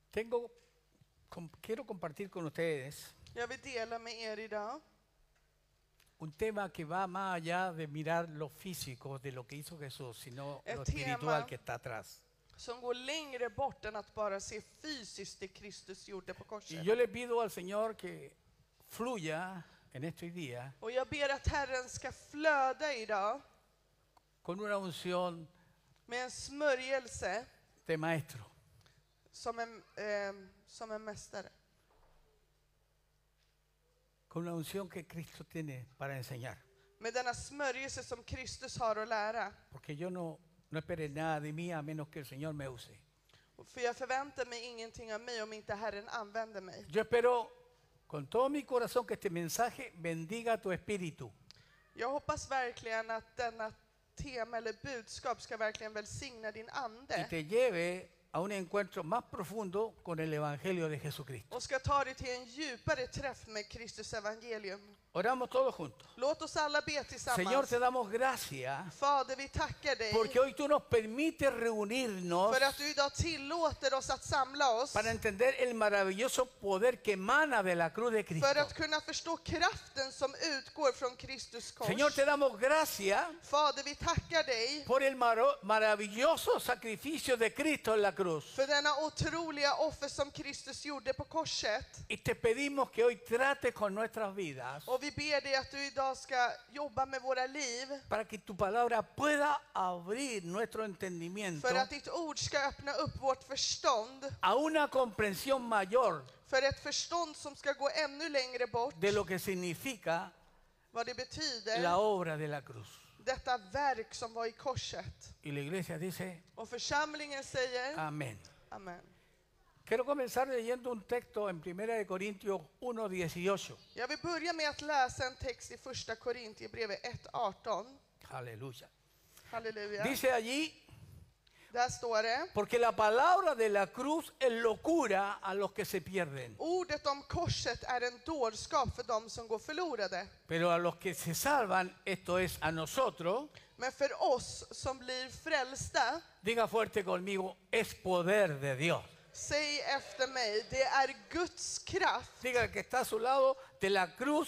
Quiero compartir con ustedes Jag vill dela med er idag un tema que va más allá de mirar lo físico de lo que hizo Jesús, sino Ett lo tema espiritual que está atrás. som går längre bort än att bara se fysiskt det Kristus gjorde på Y korset. yo le pido al Señor que fluya en estos días Och jag ber att Herren ska flöda idag con una unción med en smörjelse de maestro. som en mästare. Con una unción que Cristo tiene para enseñar. Med denna smörjelse som Kristus har att lära. Porque yo no espere nada de mí a menos que el Señor me use. För jag förväntar mig ingenting av mig om inte Herren använder mig. Yo espero con todo mi corazón que este mensaje bendiga tu espíritu. Jag hoppas verkligen att denna tema eller budskap ska verkligen välsigna din Y ande. te lleve a un encuentro más profundo con el Evangelio de Jesucristo. Och ska ta dig till en djupare träff med Kristus evangelium. Oramos todos juntos. Låt oss alla be Señor, tillsammans. te damos gracias Fader, vi tackar dig porque hoy tú nos permites reunirnos för att du idag tillåter oss att samla oss. para entender el maravilloso poder que emana de la cruz de Cristo. För att kunna förstå kraften som utgår från Kristus kors. Señor, te damos gracias Fader, vi tackar dig por el maravilloso sacrificio de Cristo en la cruz. för denna otroliga offer som Kristus gjorde på korset. Y te pedimos que hoy trates con nuestras vidas Och vi ber dig att du idag ska jobba med våra liv. para que tu palabra pueda abrir nuestro entendimiento För att ditt ord ska öppna upp vårt förstånd. a una comprensión mayor För ett förstånd som ska gå ännu längre bort. de lo que significa Vad det betyder. la obra de la cruz. Detta verk som var i korset. Y la iglesia dice, Och församlingen säger amén. amen. Quiero comenzar leyendo un texto en 1 Corintios 1:18. Jag vill börja med att läsa en text i första Korintierbrevet 1:18. Aleluya. Halleluja. Dice allí, Där står det: porque la palabra de la cruz es locura a los que se pierden, ordet om korset är en dårskap för dem som går förlorade. pero a los que se salvan, esto es a nosotros, Men för oss som blir frälsta, diga fuerte conmigo, es poder de Dios. säg efter mig, det är Guds kraft. Diga que está a su lado, de la cruz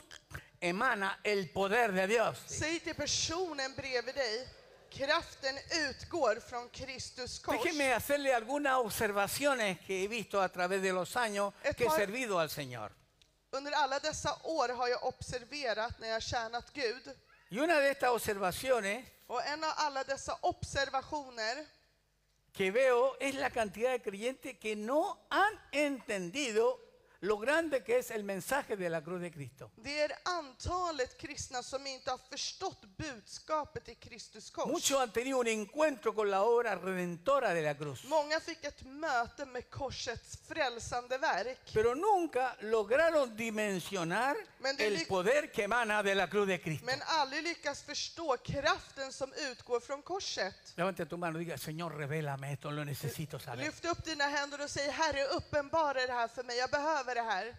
emana el poder de Dios. Säg till personen bredvid dig, kraften utgår från Kristus kors. Déjeme hacerle algunas observaciones que he visto a través de los años que he servido al Señor. Under alla dessa år har jag observerat när jag tjänat Gud. Y una de estas observaciones Och en av alla dessa observationer que veo es la cantidad de creyentes que no han entendido lo grande que es el mensaje de la cruz de Cristo. det är antalet kristna som inte har förstått budskapet i Kristus kors. Muchos han tenido un encuentro con la obra redentora de la cruz, Många fick ett möte med korsets frälsande verk. pero nunca lograron dimensionar el poder que emana de la cruz de Cristo. Men aldrig lyckas förstå kraften som utgår från korset. Levante tu mano y diga, Señor, revélame esto, lo necesito saber. Lyft upp dina händer och säg, Herre, uppenbara det här för mig. Jag behöver det här.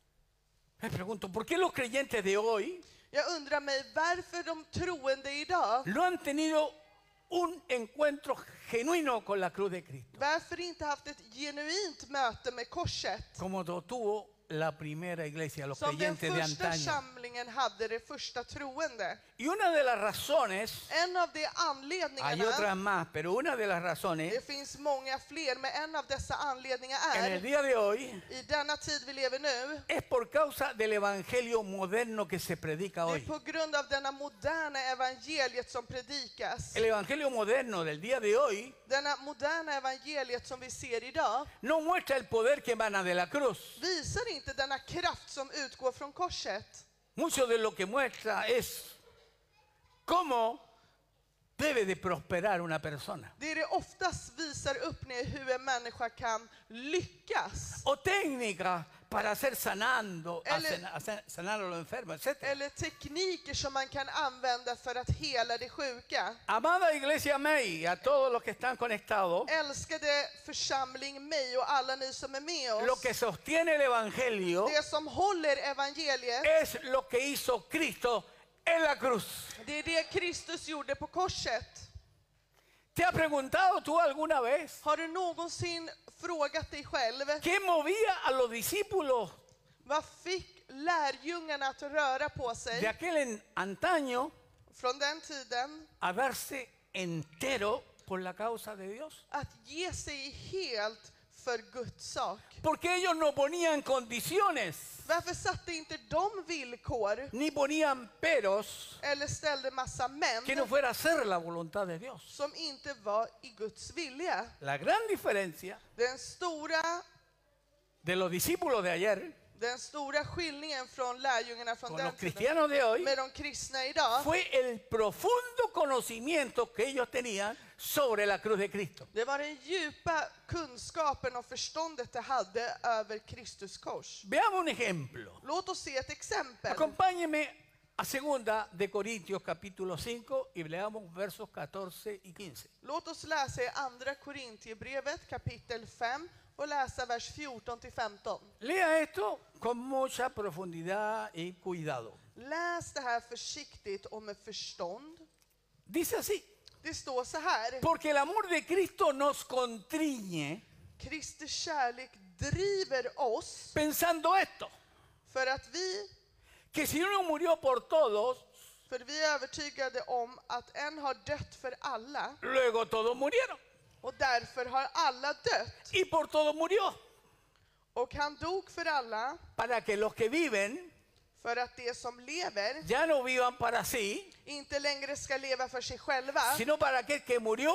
Me pregunto, ¿por qué los creyentes de hoy Jag undrar mig varför de troende idag, no han tenido un encuentro genuino con la cruz de Cristo, varför inte haft ett genuint möte med korset? como lo tuvo la primera iglesia, los Som den creyentes de första antaño? samlingen hade, det första troende. Y una de las razones, En av de hay anledningarna, otras más, pero una de las det razones finns många fler, men en av dessa anledningar en el är, día de hoy, i denna tid vi lever nu, es por causa del evangelio moderno que se predica det är hoy. på grund av denna moderna evangeliet som predikas. El evangelio moderno del día de hoy Denna moderna evangeliet som vi ser idag no muestra el poder que emana de la cruz. visar inte denna kraft som utgår från korset. Mucho de lo que muestra es cómo debe de prosperar una persona. Det oftast visar upp ner hur en människa kan lyckas. O técnicas para hacer sanando, sanar a los enfermos, etc. Eller tekniker som man kan använda för att hela det sjuka. Amada iglesia May, a todos los que están conectados, Älskade församling mig och alla ni som är med lo oss. que sostiene el evangelio Det som håller evangeliet, es lo que hizo Cristo en la cruz. det är det Kristus gjorde på korset. ¿Te has preguntado tú alguna vez Har du någonsin frågat dig själv, qué movía a los discípulos vad fick lärjungarna att röra på de sig aquel antaño från den tiden a darse entero por la causa de Dios? att ge sig helt för Guds sak? Porque ellos no ponían condiciones, Varför satte inte de villkor ni ponían peros eller ställde massa que no män fuera a hacer la voluntad de Dios. som inte var i Guds vilja? La gran diferencia Den stora de los discípulos de ayer skillningen från lärjungarna från con den los tiden cristianos de hoy med de kristna idag, fue el profundo conocimiento que ellos tenían sobre la cruz de Cristo. det var den djupa kunskapen och förståndet de hade över Kristus kors. Veamos un ejemplo. Låt oss se ett exempel. Acompáñeme a 2 de Corintios capítulo 5 y leamos versos 14 y 15. Låt oss läsa i andra Korintierbrevet kapitel 5 och läsa vers 14 till 15. Lea esto con mucha profundidad y cuidado. Läs det här försiktigt och med förstånd. Dice así: Det står så här: porque el amor de Cristo nos constriñe, Kristi kärlek driver oss pensando esto, för att vi que si uno murió por todos, är övertygade om att en har dött för alla luego todos murieron. och därför har alla dött. Y por todos murió, Och han dog för alla para que los que viven för att de som lever ya no vivan para sí, inte längre ska leva för sig själva sino para aquel que murió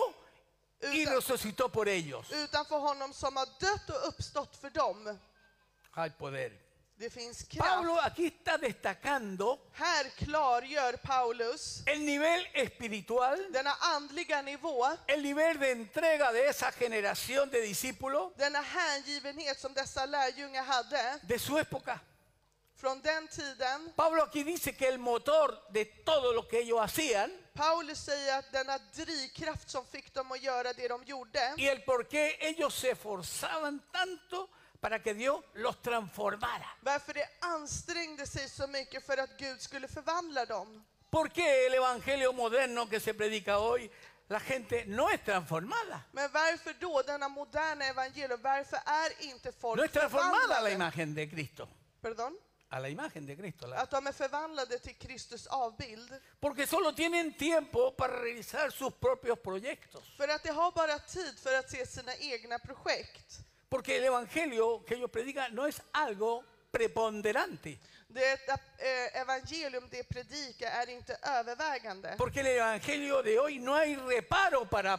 y utan, resucitó por ellos. utan för honom som har dött och uppstått för dem. Hay poder. Det finns Pablo kraft. aquí está destacando Här klargör Paulus el nivel espiritual, denna andliga nivå, el nivel de entrega de esa generación de discípulos denna hängivenhet som dessa lärjungar hade de su época. från den tiden. Pablo aquí dice que el motor de todo lo que ellos hacían Paulus säger att denna drivkraft som fick dem att göra det de gjorde y el por qué ellos se esforzaban tanto para que Dios los transformara. varför de ansträngde sig så mycket för att Gud skulle förvandla dem. ¿Por qué el evangelio moderno que se predica hoy, la gente no es transformada? Men varför då denna moderna evangelium? Varför är inte folk No es transformada a la förvandlade? imagen de Cristo. Pardon? A la imagen de Cristo. Att de är förvandlade till Kristus avbild. Porque solo tienen tiempo para realizar sus propios proyectos. För att de har bara tid för att se sina egna projekt. Porque el evangelio que ellos predican no es algo preponderante. Det evangelium de predikar är inte övervägande. Porque el evangelio de hoy no hay reparo para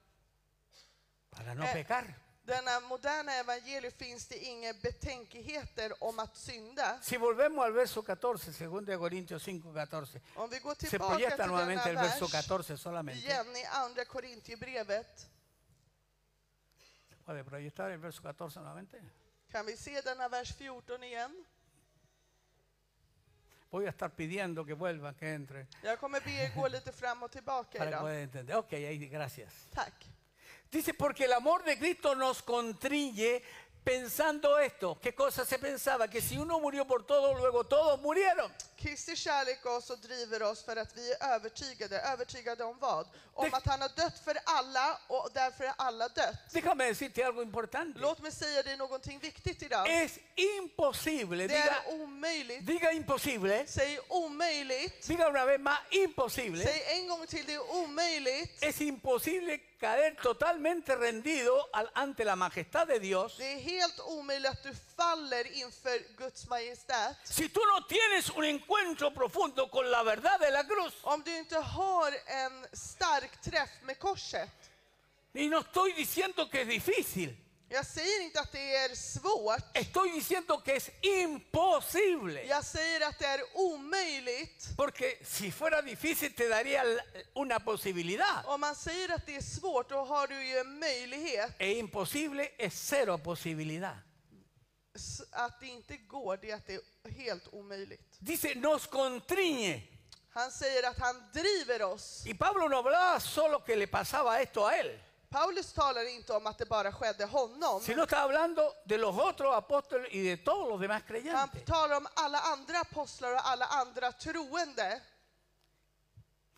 no pecar. Denna moderna evangelium finns det inga betänkligheter om att synda. Si volvemos al verso 14, 2 Corintios 5, 14, Om vi går se tillbaka proyecta till nuevamente el denna verso vers 14 solamente. igen i andra Korintierbrevet. ¿Puede proyectar el verso 14 nuevamente? Kan vi se denna vers 14 igen? Voy a estar pidiendo que vuelvan, que entre, Jag kommer be er gå lite fram och tillbaka para que idag. puedan entender. Ok, ahí, gracias. Tack. Dice, porque el amor de Cristo nos constriñe pensando esto. ¿Qué cosa se pensaba? Que si uno murió por todos, luego todos murieron. Kristi kärlek oss och driver oss för att vi är övertygade om vad? Om att han har dött för alla och därför är alla dött. Déjame decirte algo importante. Låt mig säga dig någonting viktigt idag. Es imposible, Det är omöjligt. diga imposible, Säg omöjligt. diga una vez más imposible. Säg en gång till, det är omöjligt. Es imposible caer totalmente rendido ante la majestad de Dios Det är helt omöjligt att du faller inför Guds majestät. si tú no tienes un encuentro profundo con la verdad de la cruz. Om du inte har en stark träff med korset. Y no estoy diciendo que es difícil, Jag säger inte att det är svårt. estoy diciendo que es imposible. Jag säger att det är omöjligt. Porque si fuera difícil te daría una posibilidad. Om man säger att det är svårt, då har du ju en möjlighet. Es imposible, es cero posibilidad. Att det inte går, det är att det är helt omöjligt. Dice, nos constriñe. Han säger att han driver oss. Y Pablo no hablaba solo que le pasaba esto a él, Paulus talar inte om att det bara skedde honom. sino está hablando de los otros apóstoles y de todos los demás Han creyentes. talar om alla andra apostlar och alla andra troende.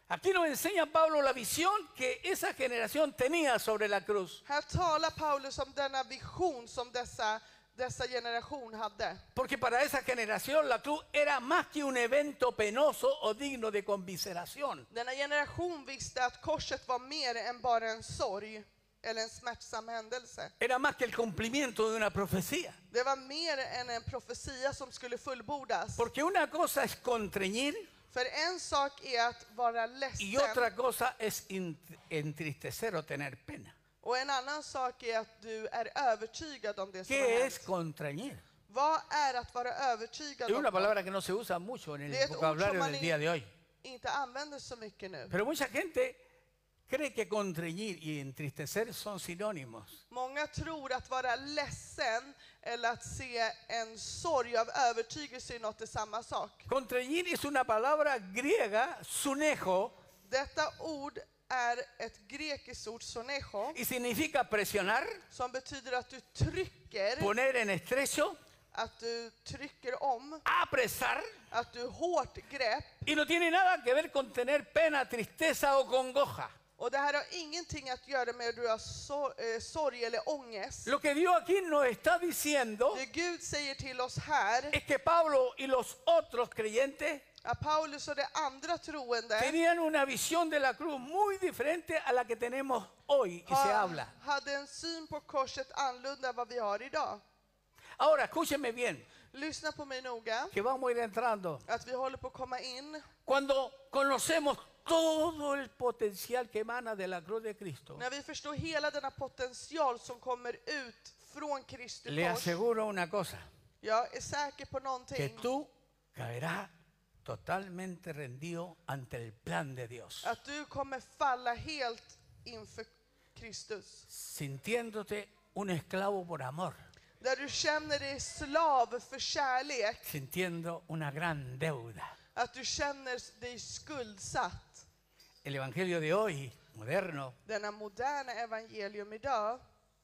Aquí nos enseña Pablo la visión que esa generación tenía sobre la cruz. Här talar Paulus om denna vision som dessa generation hade. Porque para esa generación la cruz era más que un evento penoso o digno de conmiseración. Denna generation visste att korset var mer än bara en sorg eller en smärtsam händelse. Era más que el cumplimiento de una profecía. Det var mer än en profetia som skulle fullbordas. Porque una cosa es constreñir För en sak är att vara y ledsen otra cosa es entristecer o tener pena. och en annan sak är att du är övertygad om det som har ¿Qué es hänt. constreñir? Vad är att vara övertygad Es om una något? palabra que no se usa mucho en Det är el ett ord vocabulario som man del día de hoy. inte använder så mycket nu. Pero mucha gente cree que constreñir y entristecer son sinónimos. Många tror att vara ledsen eller att se en sorg av övertygelse i något är samma sak. Constreñir es una palabra griega, sunejo, Detta ord är ett grekiskt ord, sonecho, y significa presionar, som betyder att du trycker, poner en estrecho, att du trycker om, apresar, att du hårt grepp. y no tiene nada que ver con tener pena, tristeza o congoja. Och det här har ingenting att göra med att du har sorg eller ångest. Lo que Dios aquí nos está diciendo Det Gud säger till oss här, es que Pablo y los otros creyentes att Paulus och de andra troende tenían una visión de la cruz muy diferente a la que tenemos hoy y se habla. hade en syn på korset annorlunda än vad vi har idag. Ahora, escúchenme bien, Lyssna på mig noga, que vamos a ir entrando. att vi håller på att komma in. Cuando conocemos todo el potencial que emana de la cruz de Cristo, När vi förstår hela denna potential som kommer ut från Kristi le kors. aseguro una cosa, Jag är säker på que någonting. tú caerás totalmente rendido ante el plan de Dios, Att du kommer falla helt inför Kristus. sintiéndote un esclavo por amor, Där du känner dig slav för kärlek. sintiendo una gran deuda. Att du känner dig skuldsatt. El evangelio de hoy, moderno, Denna moderna evangelium idag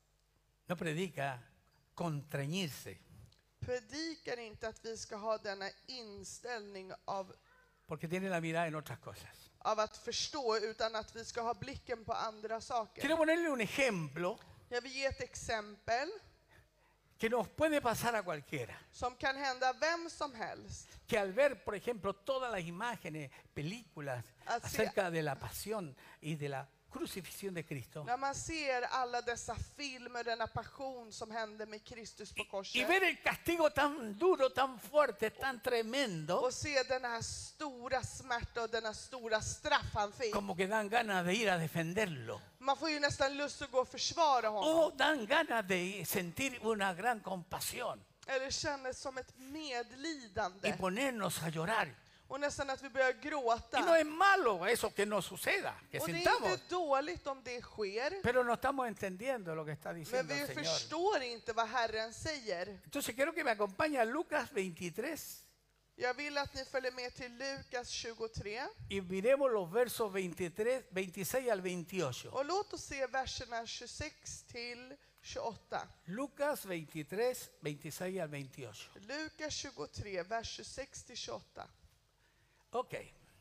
no predica constreñirse, predikar inte att vi ska ha denna inställning porque tiene la mirada en otras cosas. av att förstå, utan att vi ska ha blicken på andra saker. Quiero ponerle un ejemplo Jag vill ge ett exempel que nos puede pasar a cualquiera. som kan hända vem som helst. Que al ver, por ejemplo, todas las imágenes, películas Así- acerca de la pasión y de la crucifixión de Cristo, När man ser alla dessa filmer, denna passion som hände med Kristus på y korset, ver el castigo tan duro, tan fuerte, tan tremendo, och se den här stora smärta och denna stora straff han fick. como que dan ganas de ir a defenderlo. Man får ju nästan lust att gå och försvara honom. O dan ganas de sentir una gran compasión Eller känner som ett y medlidande. ponernos a llorar. Och nästan att vi börjar gråta. Y no es malo eso que nos suceda, que Och det är sintamos, inte dåligt om det sker. pero no estamos entendiendo lo que está Men diciendo vi el Señor. förstår inte vad Herren säger. Entonces quiero que me acompañe a Lucas 23 Jag vill att ni följer med till Lukas 23. y miremos los versos 23, 26 al 28. Och låt oss se verserna 26 till 28. Lucas 23, 26 al 28. Lukas 23, vers 26 till 28. Ok.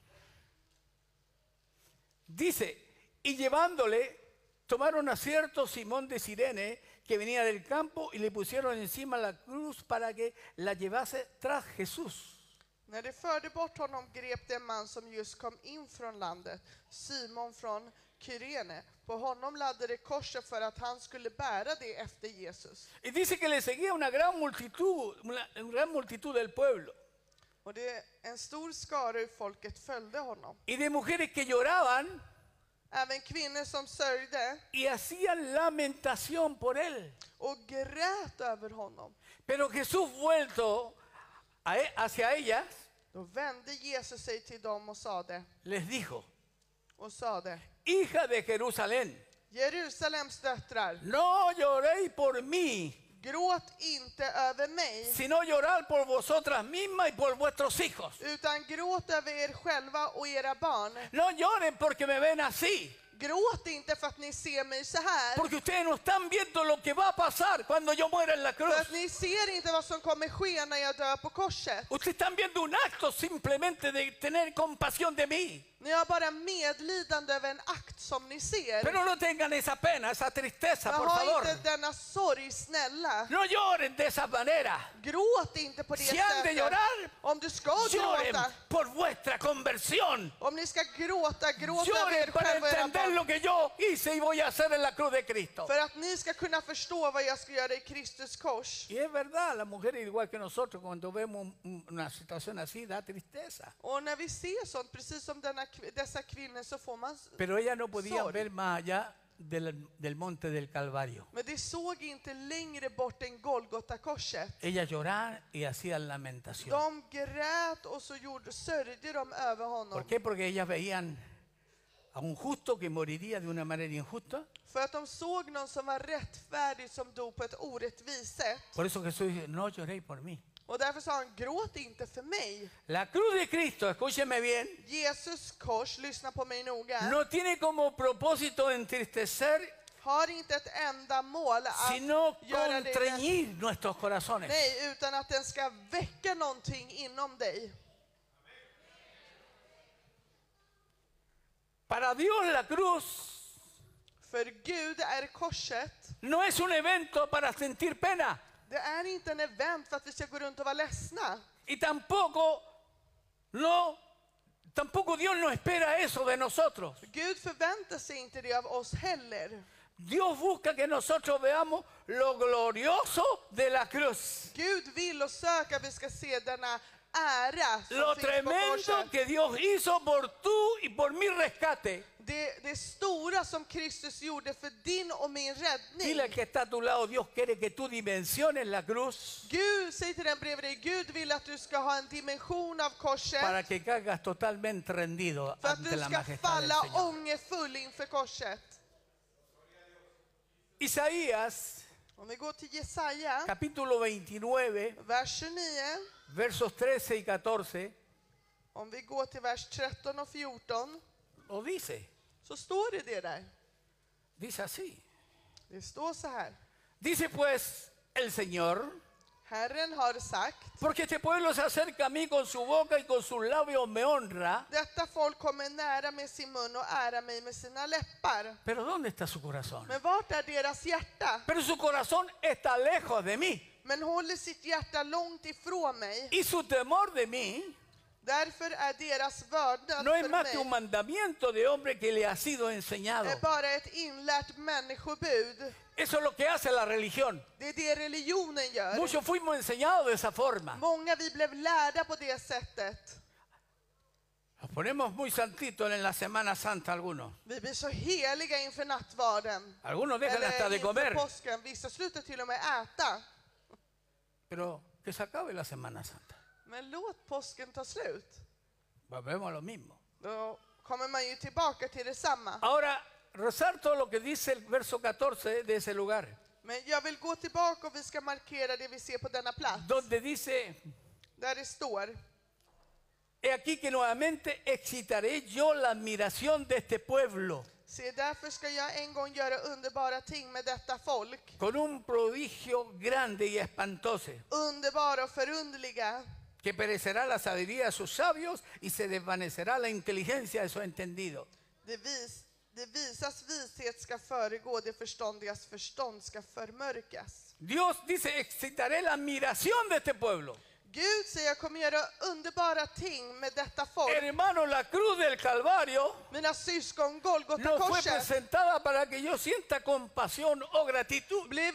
Dice, y llevándole, tomaron a cierto Simón de Cirene, que venía del campo, y le pusieron encima la cruz para que la llevase tras Jesús. När de förde bort honom grep det en man som just kom in från landet, Simon från Kyrene. På honom laddade korset för att han skulle bära det efter Jesus. Y dice que le seguía una gran multitud del pueblo. Och det en stor skara ur folket följde honom. Y de mujeres que lloraban Även kvinnor som sörjde y hacían lamentación por él. och grät över honom. Pero Jesús vuelto hacia ellas, Då vände Jesus sig till dem och les dijo, sade, hija de Jerusalén, Jerusalems döttrar, no lloréis por mí, gråt inte över mig, sino llorar por vosotras mismas y por vuestros hijos. utan gråt över er själva och era barn. No lloren porque me ven así, Gråt inte för att ni ser mig så här. porque ustedes no están viendo lo que va a pasar cuando yo muera en la cruz. För att ni ser inte vad som kommer ske när jag dör på korset. Ustedes están viendo un acto simplemente de tener compasión de mí. Ni har bara medlidande över en akt som ni ser. Pero no tengan esa pena, esa tristeza, Men por ha favor. inte denna sorg, snälla. No lloren de esa manera. Gråt inte på det Si han de sättet. llorar, Om du ska lloren gråta, por vuestra conversión. om ni ska gråta, gråt över Lloren er para själva och era entender barn. lo que yo hice y voy a hacer en la cruz de Cristo. För att ni ska kunna förstå vad jag ska göra i Kristus kors. Y es verdad, las mujeres igual que nosotros, cuando vemos una situación así, da tristeza. Och när vi ser sånt, precis som dessa kvinnor, så får man Pero ellas no podían sorg. ver más allá del monte del Calvario. Men de såg inte längre bort än Golgota-korset. Ellas lloraban y hacían lamentación. De grät och så sörjde de över honom. ¿Por qué? Porque ellas veían a un justo que moriría de una manera injusta. För att de såg någon som var rättfärdig som dog på ett orättvist sätt. Por eso Jesús dice, no lloréis por mí. Och därför sa han, gråt inte för mig. La cruz de Cristo, escúcheme bien, Jesus kors, lyssna på mig noga, no tiene como propósito entristecer, har inte ett enda mål att sino göra dig constreñir nuestros corazones. nej, utan att den ska väcka någonting inom dig. Para Dios la cruz För Gud är korset. no es un evento para sentir pena. Det är inte en event för att vi ska gå runt och vara ledsna. Y tampoco Dios no espera eso de nosotros. Gud förväntar sig inte det av oss heller. Dios busca que nosotros veamos lo glorioso de la cruz. Gud vill och söker att vi ska se denna ära som Lo finns på tremendo korset. que Dios hizo por tú y por mi rescate. Det stora som Kristus gjorde för din och min räddning. Dile al que está a tu lado, Dios quiere que tú dimensiones la cruz Gud, säg till den bredvid dig, Gud vill att du ska ha en dimension av korset. para que caigas totalmente rendido För att ante du la ska majestad del falla Señor. ångerfull inför korset. Isaías, Om vi går till Jesaja, capítulo 29, vers 29. versos 13 y 14, Om vi går till vers 13 och 14. lo dice. Så står det där. Dice así. Det står så här. Dice pues el Señor, Herren har sagt, porque este pueblo se acerca a mí con su boca y con sus labios me honra. detta folk kommer nära med sin mun och ära mig med sina läppar. Pero ¿dónde está su corazón? Men vart är deras hjärta? Pero su corazón está lejos de mí. Men håller sitt hjärta långt ifrån mig. Y su temor de mí Därför är deras vördnad no es för más que un mig mandamiento de hombre que le ha sido enseñado. är bara ett inlärt människobud. Eso es lo que hace la religión. Det är det religionen gör. Muchos fuimos enseñados de esa forma. Många vi blev lärda på det sättet. Nos ponemos muy santitos en la Semana Santa algunos. Vi blir så heliga inför nattvarden. Algunos dejan hasta de Eller inför comer. påsken. Vissa slutar till och med äta. Pero que se acabe la Semana Santa. Men låt påsken ta slut. Volvemos a lo mismo. Då kommer man ju tillbaka till detsamma. Ahora, resalto lo que dice el verso 14 de ese lugar. Men jag vill gå tillbaka och vi ska markera det vi ser på denna plats. Donde dice, Där det står. he aquí que nuevamente excitaré yo la admiración de este pueblo Se därför ska jag en gång göra underbara ting med detta folk. con un prodigio grande y espantoso, Underbara och förunderliga. que perecerá la sabiduría de sus sabios y se desvanecerá la inteligencia de sus entendidos. Det visas vishet ska föregå, det förståndigas förstånd ska förmörkas. Dios dice, excitaré la admiración de este pueblo. Gud säger, jag kommer göra underbara ting med detta folk. Hermano, la cruz del Calvario Mina syskon, no fue Golgota-korset presentada para que yo sienta compasión o gratitud. blev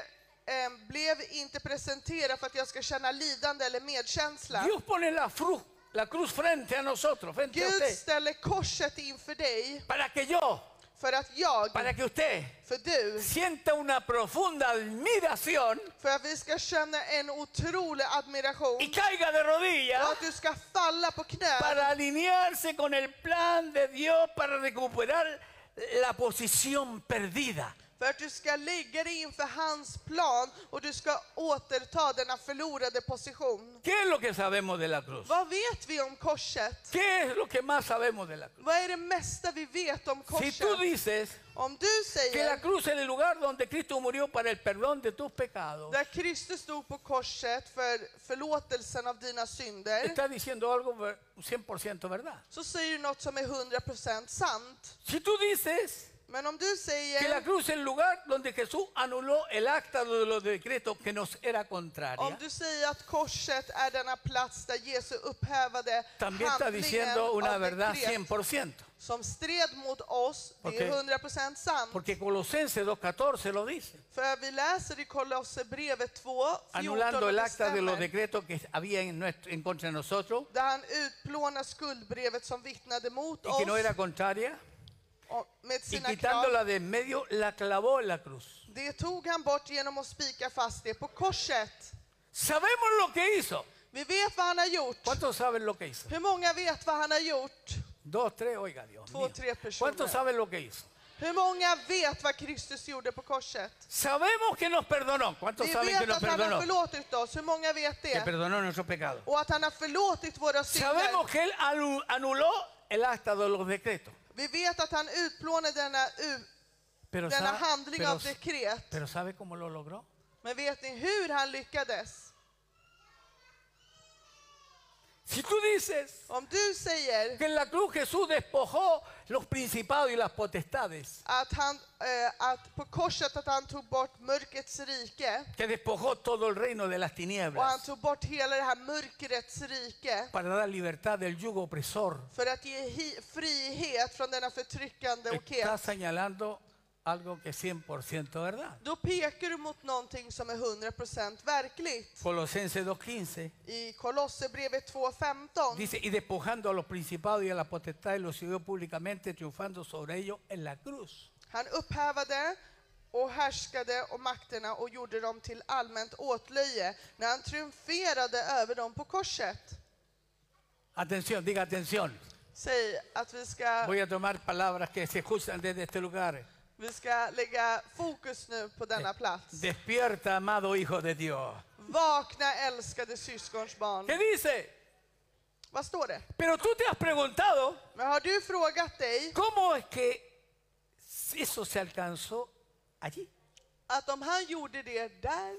inte presenterad för att jag ska känna lidande eller medkänsla. Dios pone la cruz frente a nosotros, frente a Gud usted, ställer korset inför dig para que yo, för att jag, para que usted för du, sienta una profunda admiración för att vi ska känna en otrolig admiration y caiga de och rodillas att du ska falla på knä para alinearse con el plan de Dios para recuperar la posición perdida. för att du ska lägga dig inför hans plan och du ska återta denna förlorade position. ¿Qué es lo que sabemos de la cruz? Vad vet vi om korset? ¿Qué es lo que más sabemos de la cruz? Vad är det mesta vi vet om Si tú korset? dices, Om du que la säger cruz es el lugar donde Cristo murió para el perdón de tus pecados, där Kristus stod på korset för förlåtelsen av dina synder, está diciendo algo 100% verdad. så säger du något som är 100% sant. Si tú dices Men om du que la säger, cruz es el lugar donde Jesús anuló el acta de los decretos que nos era om contraria, du säger att korset är denna plats där Jesus upphävade también está handlingen diciendo una av verdad dekret 100%. som stred mot oss, det är 100% sant. Porque Colosenses 2:14 lo dice, För vi läser i Kolosserbrevet 2, 14 anulando el och acta de los bestämmer, decretos que había en contra de nosotros där han utplånar skuldbrevet som vittnade mot y que no oss era contraria, och med y sina krav. quitándola de en medio la clavó en la cruz. Det tog han bort genom att spika fast det på korset. Sabemos lo que hizo. Vi vet vad han har gjort. ¿Cuántos saben lo que hizo? Hur många vet vad han har gjort? 2, 3, oiga Dios Två, mío. tre personer. ¿Cuántos saben lo que hizo? Hur många vet vad Kristus gjorde på korset? Sabemos que nos perdonó. ¿Cuántos Vi saben que vet nos att han har perdonó? förlåtit oss. Hur många vet Que det? perdonó nuestros pecados. Och att han har förlåtit våra synder. Sabemos que Él anuló el acta de los decretos. Vi vet att han utplånade Pero, denna handling av dekret. pero ¿sabe cómo lo logró? Men vet ni hur han lyckades? Si tú dices Om du säger que en la cruz Jesús despojó los principados y las potestades, att på korset att han tog bort mörkrets rike que despojó todo el reino de las och han tinieblas tog bort hela det här mörkrets rike para dar libertad del yugo opresor, för att ge frihet från denna förtryckande está okhet. señalando algo que es 100% verdad. Då pekar du mot någonting som är 100% verkligt. Colosenses 2:15 I Kolosserbrevet 2:15 dice, y despojando a los principados y a las potestades, los siguió públicamente, triunfando sobre ellos en la cruz. han upphävade och härskade och makterna och gjorde dem till allmänt åtlöje när han triumferade över dem på korset. Atención, diga atención. Säg att Voy a tomar palabras que se escuchan desde este lugar. vi ska lägga fokus nu på denna plats. Despierta, amado hijo de Dios. Vakna älskade syskons barn. ¿Qué dice? Vad står det? Pero tú te has preguntado, Men har du frågat dig ¿cómo es que eso se alcanzó allí? att om han gjorde det där,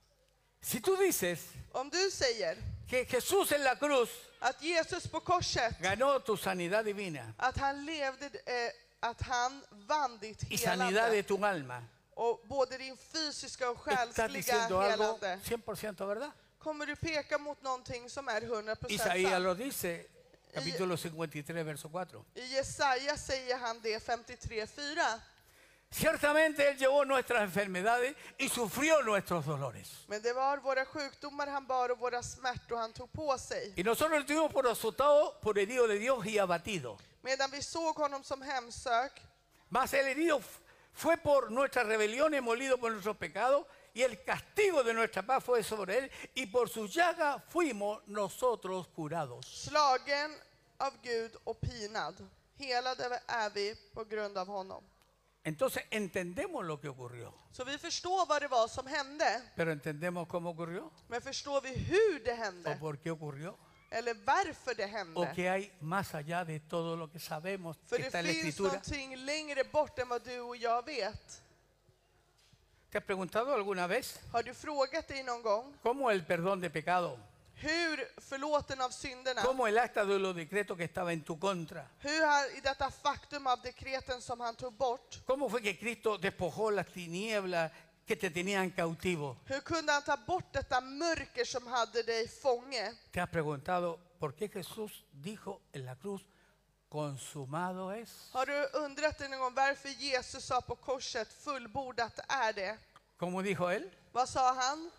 Si tú dices om du säger que Jesús en la cruz att Jesus på korset, ganó tu sanidad divina att han levde, att han vann ditt y sanidad de helande tu alma, och både din fysiska och estás själsliga diciendo algo helande, 100% verdad. kommer du peka mot någonting som är 100% Isaías sant. lo dice, capítulo 53, verso 4. I Jesaja säger han det 53:4. Ciertamente Él llevó nuestras enfermedades y sufrió nuestros dolores. Men det var våra sjukdomar han bar och våra smärtor han tog på sig. Y nosotros estuvimos por azotado, por herido de Dios y abatido. Medan vi såg honom som hemsök, Mas el herido fue por nuestras rebeliones, molido por nuestros pecados, y el castigo de nuestra paz fue sobre Él, y por su llaga fuimos nosotros curados. slagen av Gud och pinad. Helade är vi på grund av honom. Entonces entendemos lo que ocurrió, Så vi förstår vad det var som hände. pero entendemos cómo ocurrió, Men förstår vi hur det o hände? por qué ocurrió, Eller varför det o hände? qué hay más allá de todo lo que sabemos För que det está en la finns Escritura. någonting längre bort än vad du och jag vet. ¿Te has preguntado alguna vez Har du frågat dig någon gång cómo el perdón de pecado, hur förlåten av synderna, cómo el acta de los decretos que estaba en tu contra, hur han, i detta faktum av dekreten som han tog bort, cómo fue que Cristo despojó las tinieblas que te tenían cautivo? hur kunde han ta bort detta mörker som hade dig fånge? ¿Te has preguntado por qué Jesús dijo en la cruz, consumado es? Har du undrat dig någon gång varför Jesus sa på korset, fullbordat är det? ¿Cómo dijo él? Vad sa han?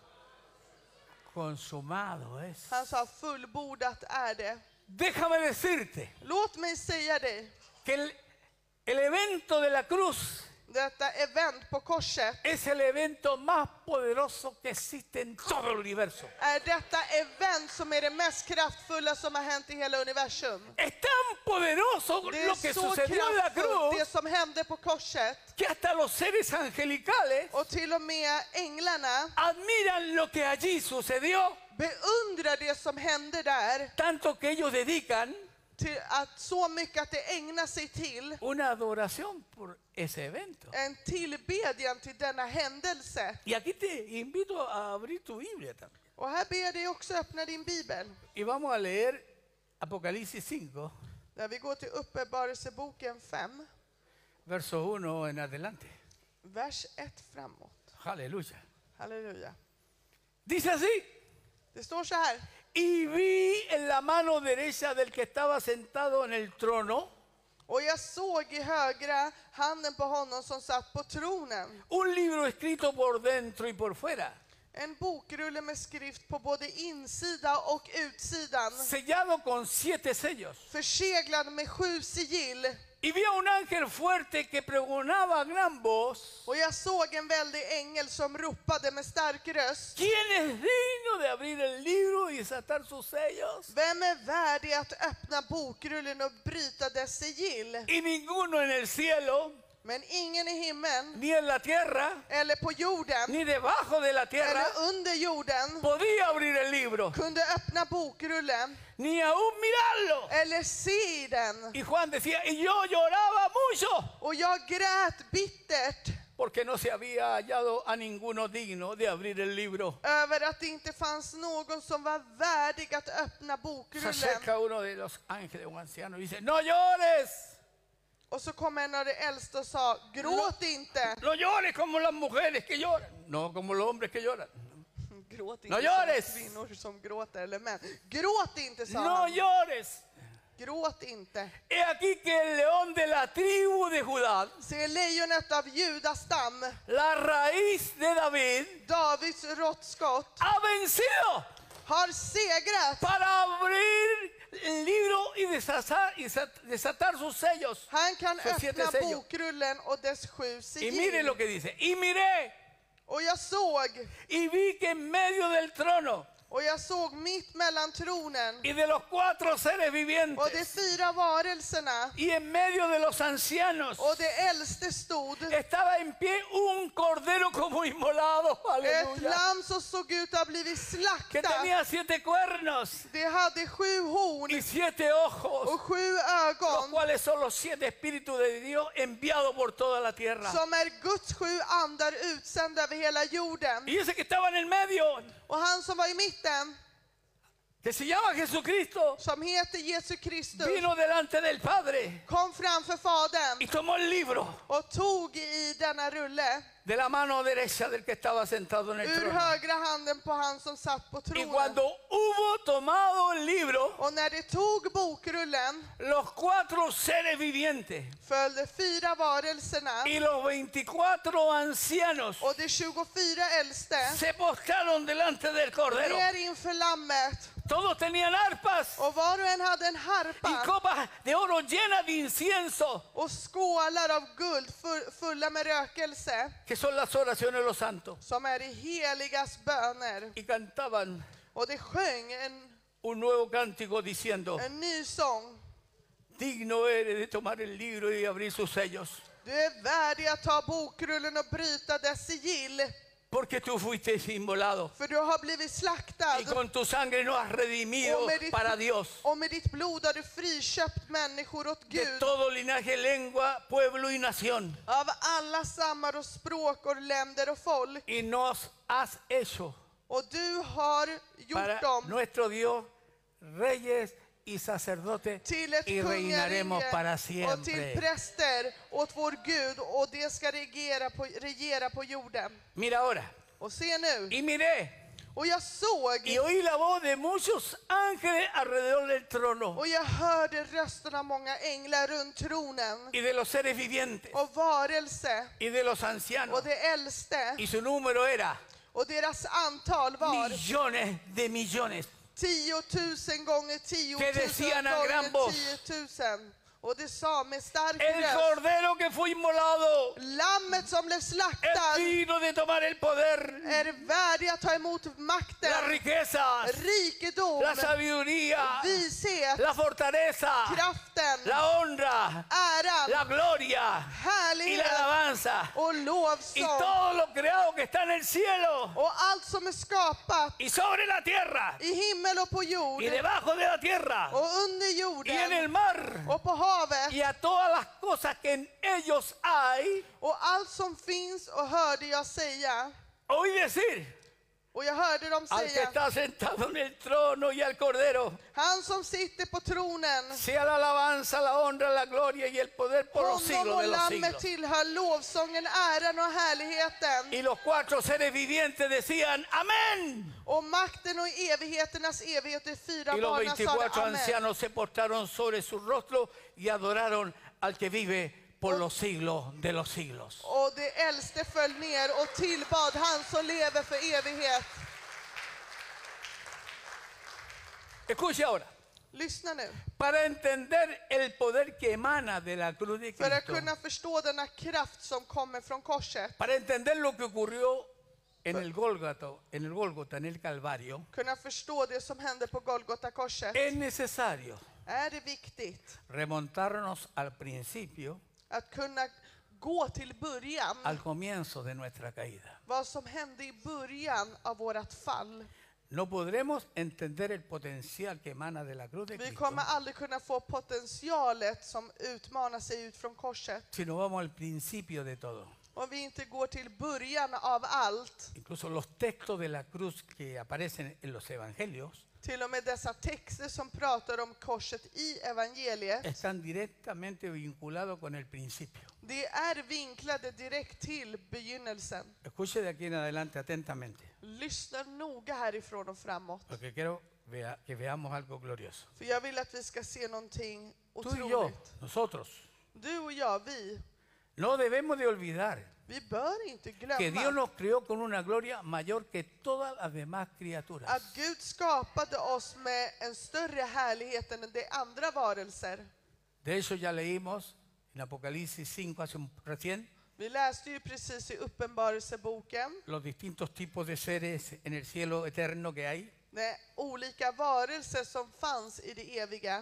Consumado es. Han sa fullbordat är det. Déjame decirte Låt mig säga dig, que el evento de la cruz detta event på korset es el evento más poderoso que existe en todo el universo. är detta event som är det mest kraftfulla som har hänt i hela universum. Es tan poderoso Det lo är que så sucedió en la kraftfullt, det cruz som hände på korset. que hasta los seres angelicales Och till och med änglarna admiran lo que allí sucedió, beundrar det som hände där. tanto que ellos dedican så mycket att det ägnar sig till una adoración por ese evento. en tillbedjan till denna händelse. Y aquí te invito a abrir tu Biblia también. Och här ber jag dig också öppna din bibel. Y vamos a leer Apocalipsis 5, Där vi går till Uppenbarelseboken 5, verso 1 en adelante. vers 1 framåt. Aleluya. Halleluja. Dice así: Det står så här. y vi en la mano derecha del que estaba sentado en el trono Och jag såg i högra handen på honom som satt på tronen un libro escrito por dentro y por fuera, en bokrulle med skrift på både insida och utsidan, sellado con 7 sellos. förseglad med 7 sigill. Y vi a un ángel fuerte que pregonaba a gran voz: Och jag såg en väldig ängel som ropade med stark röst. ¿quién es digno de abrir el libro y desatar sus sellos? Vem är värdig att öppna bokrullen och bryta dess sigill? Y ninguno en el cielo, Men ingen i himlen, ni en la tierra, eller på jorden, ni debajo de la tierra eller under jorden podía abrir el libro, kunde öppna bokrullen ni aún mirarlo. eller se den. Y Juan decía, y yo lloraba mucho, Och jag grät bittert porque no se había hallado a ninguno digno de abrir el libro. över att det inte fanns någon som var värdig att öppna Se bokrullen. acerca uno de los ángeles, un anciano, y dice: no llores, Och så kom en av de äldste och sa, gråt inte. no llores como las mujeres que lloran, no como los hombres que lloran. Gråt No inte llores. som kvinnor som gråter eller män. Gråt inte, sa No han. llores. Gråt inte. He aquí que el león de la tribu de Judá, Se lejonet av Judas stam, la raíz de David, Davids råttskott, ha vencido har segrat. para abrir el libro y desatar sus sellos. Han kan För 7 öppna sellos. bokrullen och dess 7 Y mire lo sigill. que dice: y miré Och jag såg, y vi que en medio del trono och jag såg mitt mellan tronen y de los 4 seres och de vivientes 4 varelserna y en medio de los ancianos och det äldste stod estaba en pie un cordero como inmolado, ett aleluya, lamm som såg ut att ha blivit que slaktat. tenía 7 cuernos Det hade 7 horn y 7 ojos, och 7 los ögon, cuales son los 7 espíritus de Dios enviados por toda la tierra. som är Guds 7 andar utsända över hela jorden. Y ese que estaba en el medio, Och han som var i mitten, que se llama Jesucristo, som heter Jesu Kristus, vino delante del Padre kom framför Fadern y tomó el libro och tog i denna rulle de la mano derecha del que estaba sentado en el ur trono. högra handen på han som satt på Y tronen. cuando hubo tomado el libro, Och när det tog bokrullen los 4 seres vivientes följde 4 varelserna y los 24 ancianos och de 24 äldste se postraron delante del Cordero. ner inför lammet. Todos tenían arpas Och var och en hade en y harpa copas de oro llenas de incienso, och skålar av guld fulla med rökelse, que son las oraciones de los santos. som är de heligas böner. Y cantaban Och det sjöng un nuevo cántico diciendo: en ny sång. digno eres de tomar el libro y abrir sus sellos, Du är värdig att ta bokrullen och bryta dess sigill, porque tú fuiste inmolado för du har blivit slaktad. y con tu sangre nos has redimido para Dios Och med ditt blod har du friköpt människor åt de Gud, todo linaje, lengua, pueblo y nación, av alla stammar och språk och länder och folk. y nos has hecho Och du har gjort para dem nuestro Dios reyes y sacerdotes, till ett y reinaremos para kungarike och till siempre. präster åt vår Gud, och det ska regera på jorden. Mira ahora, Och se nu, y miré och jag såg y oí la voz de muchos ángeles alrededor del trono och jag hörde rösten av många änglar runt tronen y de los seres vivientes och varelse y de los ancianos, och det äldste, y su número era och deras antal var millones de millones, 10 000 gånger 10 que 000 decían a gran gånger voz, 10 000. Och det sa med stark el röst: cordero que fue inmolado lammet som blev es slaktad digno de tomar el poder, är värdig att ta emot las makten, riquezas, rikedom, la sabiduría, vishet, la fortaleza, kraften, la honra, äran, la gloria y la härlighet alabanza och y lovsång todo lo creado que está en el cielo och allt som är skapat y sobre la tierra i himmel och på jord y debajo de la tierra och under y en el jorden mar och på havet y a todas las cosas que en ellos hay. och allt som finns. Och hörde jag säga, Oí decir och jag hörde dem al que säga: está sentado en el trono y al cordero, han som sitter på tronen, sea la alabanza, la honra, la gloria y el poder por los honom siglos och de los lammet siglos. tillhör lovsången, äran och härligheten. Y los cuatro seres vivientes decían amén. Och makten och evigheternas evighet, de fyra Y los barnen sa 24 amen. ancianos se postraron sobre su rostro y adoraron al que vive por los siglos de los siglos. Och de äldste föll ner och tillbad han som lever för evighet. Escuche ahora, Lyssna nu. para entender el poder que emana de la cruz de För att Cristo, kunna förstå denna kraft som kommer från korset, para entender lo que ocurrió en el Gólgota, en el Calvario, kunna förstå det som hände på Golgata korset, es necesario är det viktigt remontarnos al principio, att kunna gå till början, al comienzo de nuestra caída. vad som hände i början av vårt fall. No podremos entender el potencial que emana de la cruz de Vi Cristo kommer aldrig kunna få potentialet som utmanar sig ut från korset si no vamos al principio de todo. om vi inte går till början av allt. Incluso los textos de la cruz que aparecen en los evangelios Till och med dessa texter som pratar om korset i evangeliet, están directamente vinculados con el principio. det är vinklade direkt till begynnelsen. Escuche de aquí en adelante atentamente, Lyssna noga härifrån och framåt. porque quiero que veamos algo glorioso. För jag vill att vi ska se någonting Tú y yo, otroligt. nosotros, Du och jag, vi no debemos de olvidar bör inte que Dios glömma nos creó con una gloria mayor que todas las demás criaturas. att Gud skapade oss med en större härlighet än de andra varelser. De hecho, ya leímos en Apocalipsis 5 recién Vi läste ju precis i Uppenbarelseboken los distintos tipos de seres en el cielo eterno que hay. de olika varelser som fanns i det eviga.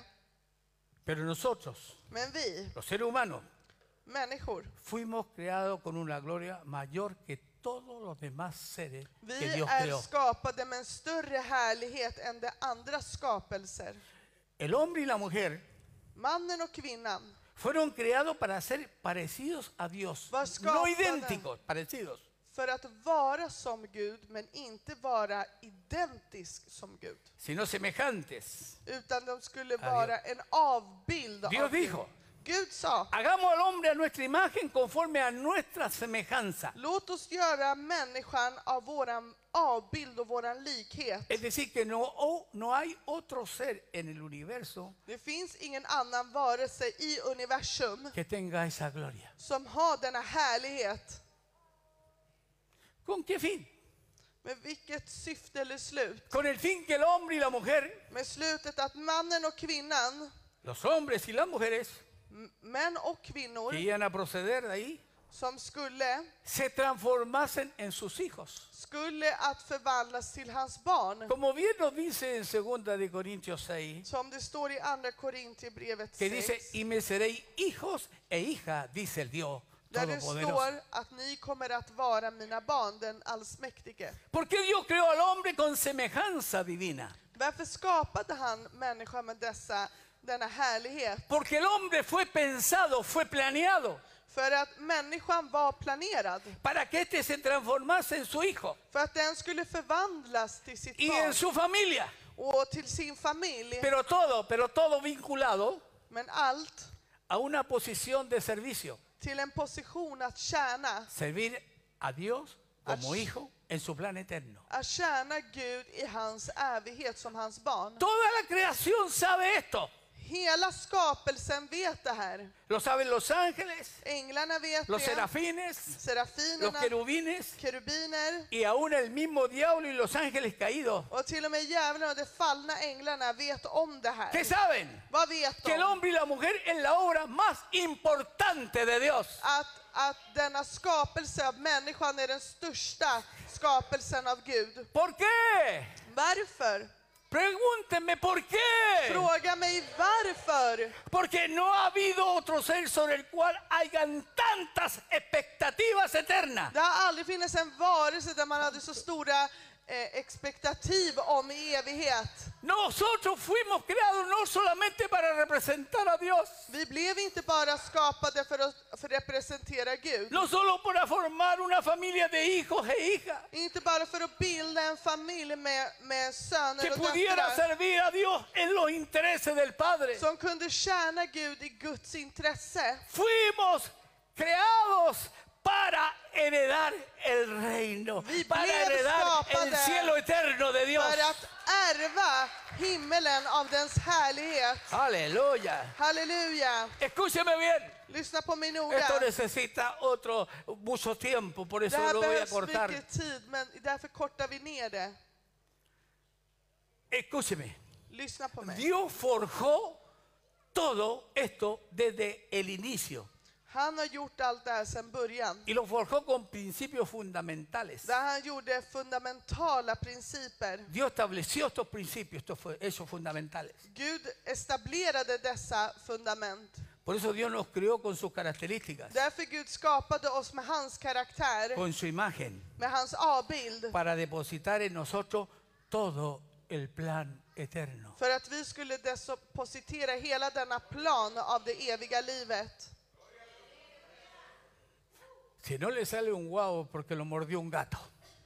Pero nosotros, Men vi, los seres humanos, människor, fuimos creados con una gloria mayor que todos los demás seres que vi Dios är creó. skapade med en större härlighet än de andra skapelser. El hombre y la mujer Mannen och kvinnan fueron creados para ser parecidos a Dios. Var No skapade. idénticos, parecidos. för att vara som Gud, men inte vara identisk som Gud. Sino semejantes. Utan de skulle Dios. vara en avbild Dios av Gud. dijo, Gud sa: hagamos al hombre a nuestra imagen conforme a nuestra semejanza. låt oss göra människan av våran avbild och våran likhet. Es decir, que no hay otro ser en el universo Det finns ingen annan varelse i universum que tenga esa gloria. som har denna härlighet. ¿Con qué fin? Med vilket syfte eller slut? Con el fin que el hombre y la mujer, Med slutet att mannen och kvinnan, los hombres y las mujeres män och kvinnor, que iban a proceder de ahí, som skulle se transformasen en sus hijos. att förvandlas till hans barn. Como bien nos dice en 2 de Corintios 6, Som det står i andra Korintierbrevet que dice, 6. y me seréis hijos e hijas, dice el Dios Där det Todopoderoso. står att ni kommer att vara mina barn, den allsmäktige. Porque Dios creó al hombre con semejanza divina. Varför skapade han människan med denna härlighet? Porque el hombre fue pensado, fue planeado För att människan var planerad. para que éste se transformase en su hijo För att den skulle förvandlas till sitt y barn en su familia. och till sin familj. Pero todo vinculado Men allt a una posición de servicio. till en position att tjäna. Servir a Dios como Ach. hijo en su plan eterno. Att tjäna Gud i hans evighet som hans barn. Toda la creación sabe esto. Hela skapelsen vet det här. Lo saben los ángeles, Änglarna vet los det. serafines, los Serafinerna, querubines kerubiner y aún el mismo diablo y los ángeles caídos. och till och med djävulen och de fallna änglarna vet om det ¿Qué här. saben? Vad vet Que el de? hombre y la mujer es la obra más importante de Dios. Att denna skapelse av människan är den största skapelsen av Gud. ¿Por qué? Varför? Pregúntenme por qué. Fråga mig varför. Porque no ha habido otro ser sobre el cual hayan tantas expectativas eternas. Det har aldrig funnits en varelse där man hade så stora expektativ om evighet. Nosotros fuimos creados no solamente para representar a Dios, Vi blev inte bara skapade för att representera Gud. no solo para formar una familia de hijos e hijas Inte bara för att bilda en familj med söner que och pudiera döttrar servir a Dios en los intereses del Padre. som kunde tjäna Gud i Guds intresse. Fuimos creados para heredar el reino, Vi para blev heredar el skapade cielo eterno de Dios. För att ärva himmelen av dens härlighet. Aleluya. Halleluja! Escúcheme bien. Lyssna på mig Esto noga. necesita mucho tiempo, por Det eso här lo voy a behövs cortar. mycket tid, men därför kortar vi ner det. Escúcheme. Lyssna på mig. Dios forjó todo esto desde el inicio Han har gjort allt det här sedan början. y lo forjó con principios fundamentales. Där han gjorde fundamentala principer. Dios estableció estos principios, estos hechos fundamentales. Gud etablerade dessa fundament. Por eso Dios nos creó con sus características, Därför Gud skapade oss med hans karaktär, con su imagen, med hans avbild. para depositar en nosotros todo el plan eterno. För att vi skulle depositera hela denna plan av det eviga livet. Si no le sale un guau porque lo mordió un gato.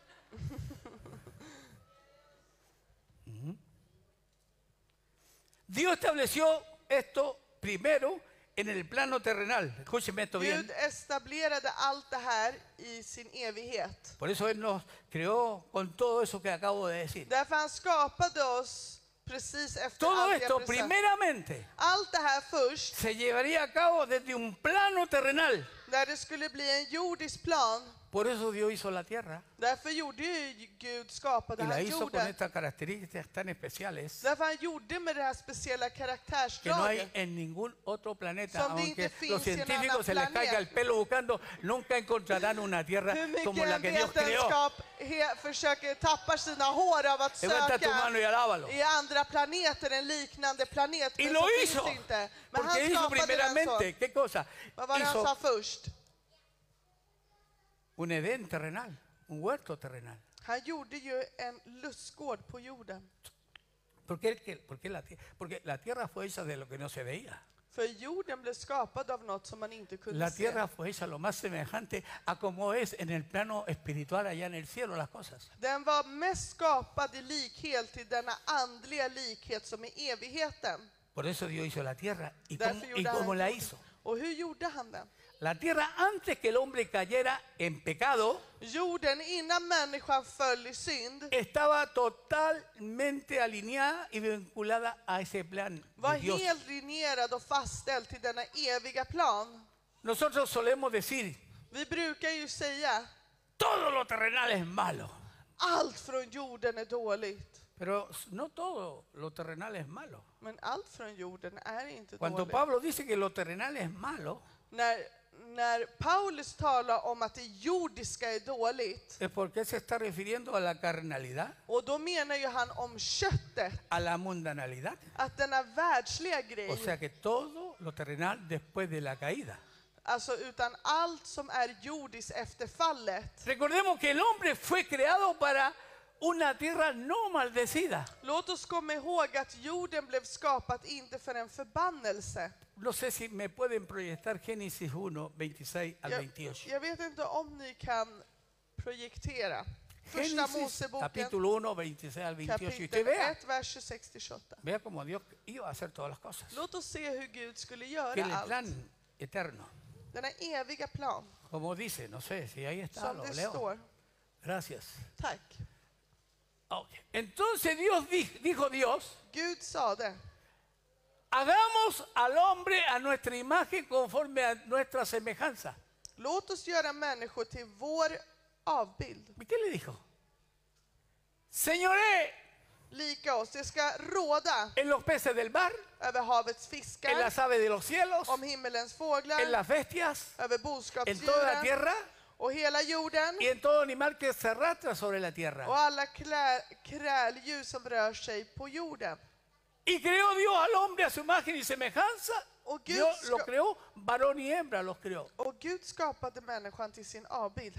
Dios estableció esto primero en el plano terrenal. Escúcheme esto bien. Gud etablerade allt det här i sin evighet. Por eso Él nos creó con todo eso que acabo de decir. Därför han skapade oss precis efter Todo allt esto jag precis. primeramente Allt det här först, se llevaría a cabo desde un plano terrenal. där det skulle bli en jordisk plan. Por eso Dios hizo la tierra Därför gjorde ju Gud, skapade y la han hizo con jorden. estas características tan especiales Därför han gjorde med det här speciella que no karaktärsdraget. hay en ningún otro planeta. Som det inte Aunque finns los i en annan científicos se les planet. caiga el pelo buscando, nunca encontrarán una tierra Hur como mycket la en que Dios creó. vetenskap försöker tappa sina hår av att Levanta tu mano söka y alábalo. i andra planeter, en liknande planet. Y Men lo så hizo. finns det inte. Men han Porque hizo skapade den primeramente, så. ¿qué cosa? Vad var det han sa Hizo först? un Edén terrenal, un huerto terrenal. Han gjorde ju en lustgård på jorden. Porque la tierra fue hecha de lo que no se veía. För jorden blev skapad av något som man inte kunde La se. tierra fue hecha lo más semejante a como es en el plano espiritual allá en el cielo las cosas. Den var mest skapad i likhet till denna andliga likhet som är evigheten. Por eso Dios hizo la tierra. ¿Y Därför gjorde han cómo la jorden. hizo? Och hur gjorde han den? La tierra antes que el hombre cayera en pecado Jorden innan människan föll i synd estaba totalmente alineada y vinculada a ese plan var de Dios. helt linjerad och fastställd till denna eviga plan. Nosotros solemos decir, Vi brukar ju säga todo lo terrenal es malo. allt från jorden är dåligt. Pero no todo lo terrenal es malo. Men allt från jorden är inte Cuando dåligt. Pablo dice que lo terrenal es malo, När Paulus talar om att det jordiska är dåligt, es porque se está refiriendo a la carnalidad, och då menar ju han om köttet, a la mundanalidad. att denna världsliga grej, O sea que todo lo terrenal después de la caída. alltså utan allt som är jordiskt efter fallet. Recordemos que el hombre fue creado para una tierra no maldecida. Låt oss komma ihåg att jorden blev skapat inte för en förbannelse. No sé si me pueden proyectar Génesis 1, 26 al 28. Jag vet inte om ni kan projektera. Första Génesis Moseboken, capítulo 1, 26 al 28. Y usted kapitel vea, 1, vers 26-28. vea cómo Dios iba a hacer todas las cosas. Låt oss se hur Gud skulle Que göra el allt. plan eterno, Denna eviga plan, como dice, no sé si ahí está, som lo det leo. står. Gracias. Tack. Ok. Entonces Dios dijo Dios, Gud sa det. hagamos al hombre a nuestra imagen conforme a nuestra semejanza. Låt oss göra människor till vår avbild. ¿Y qué le dijo? Señoré Lika oss. Det ska råda en los peces del mar, över havets en fiskar, las aves de los cielos, om himmelens fåglar, en las bestias, över en toda la boskapsdjuren tierra och hela jorden y en todo animal que se arrastra sobre la och tierra. alla kräldjur som rör sig på jorden. Y creó Dios al hombre a su imagen y semejanza. Och Gud, Dios lo creó, varón y hembra los creó. och Gud skapade människan till sin avbild.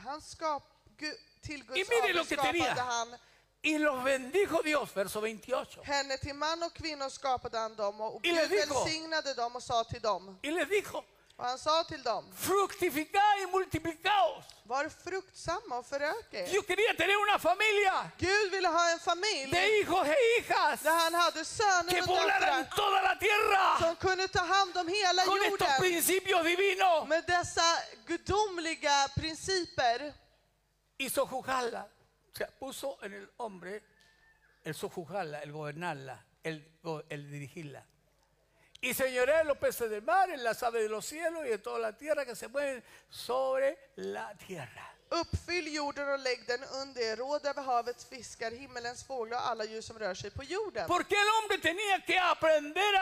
Till Y Guds mire lo avbild que skapade tenía. han Y los bendijo Dios, verso 28. henne. Till man och kvinnor skapade han dem och Y Gud les dijo. välsignade dem och sa till dem. Y les dijo, Och han sa till dem, fructificad y multiplicaos. var fruktsamma och förök er. Dios quería tener una familia Gud ville ha en familj de hijos e hijas där han hade söner que och volaran döttrar toda la tierra som kunde ta hand om hela con estos jorden principios divinos med dessa gudomliga principer. y sojuzgarla. O sea, puso en el hombre el sojuzgarla, el gobernarla, el dirigirla. Y señoré en los peces del mar, en las aves de los cielos y en toda la tierra que se mueven sobre la tierra. Uppfyll jorden och lägg den under er. Råd över havets fiskar, himmelens fåglar och alla djur som rör sig på jorden. Porque el hombre tenía que aprender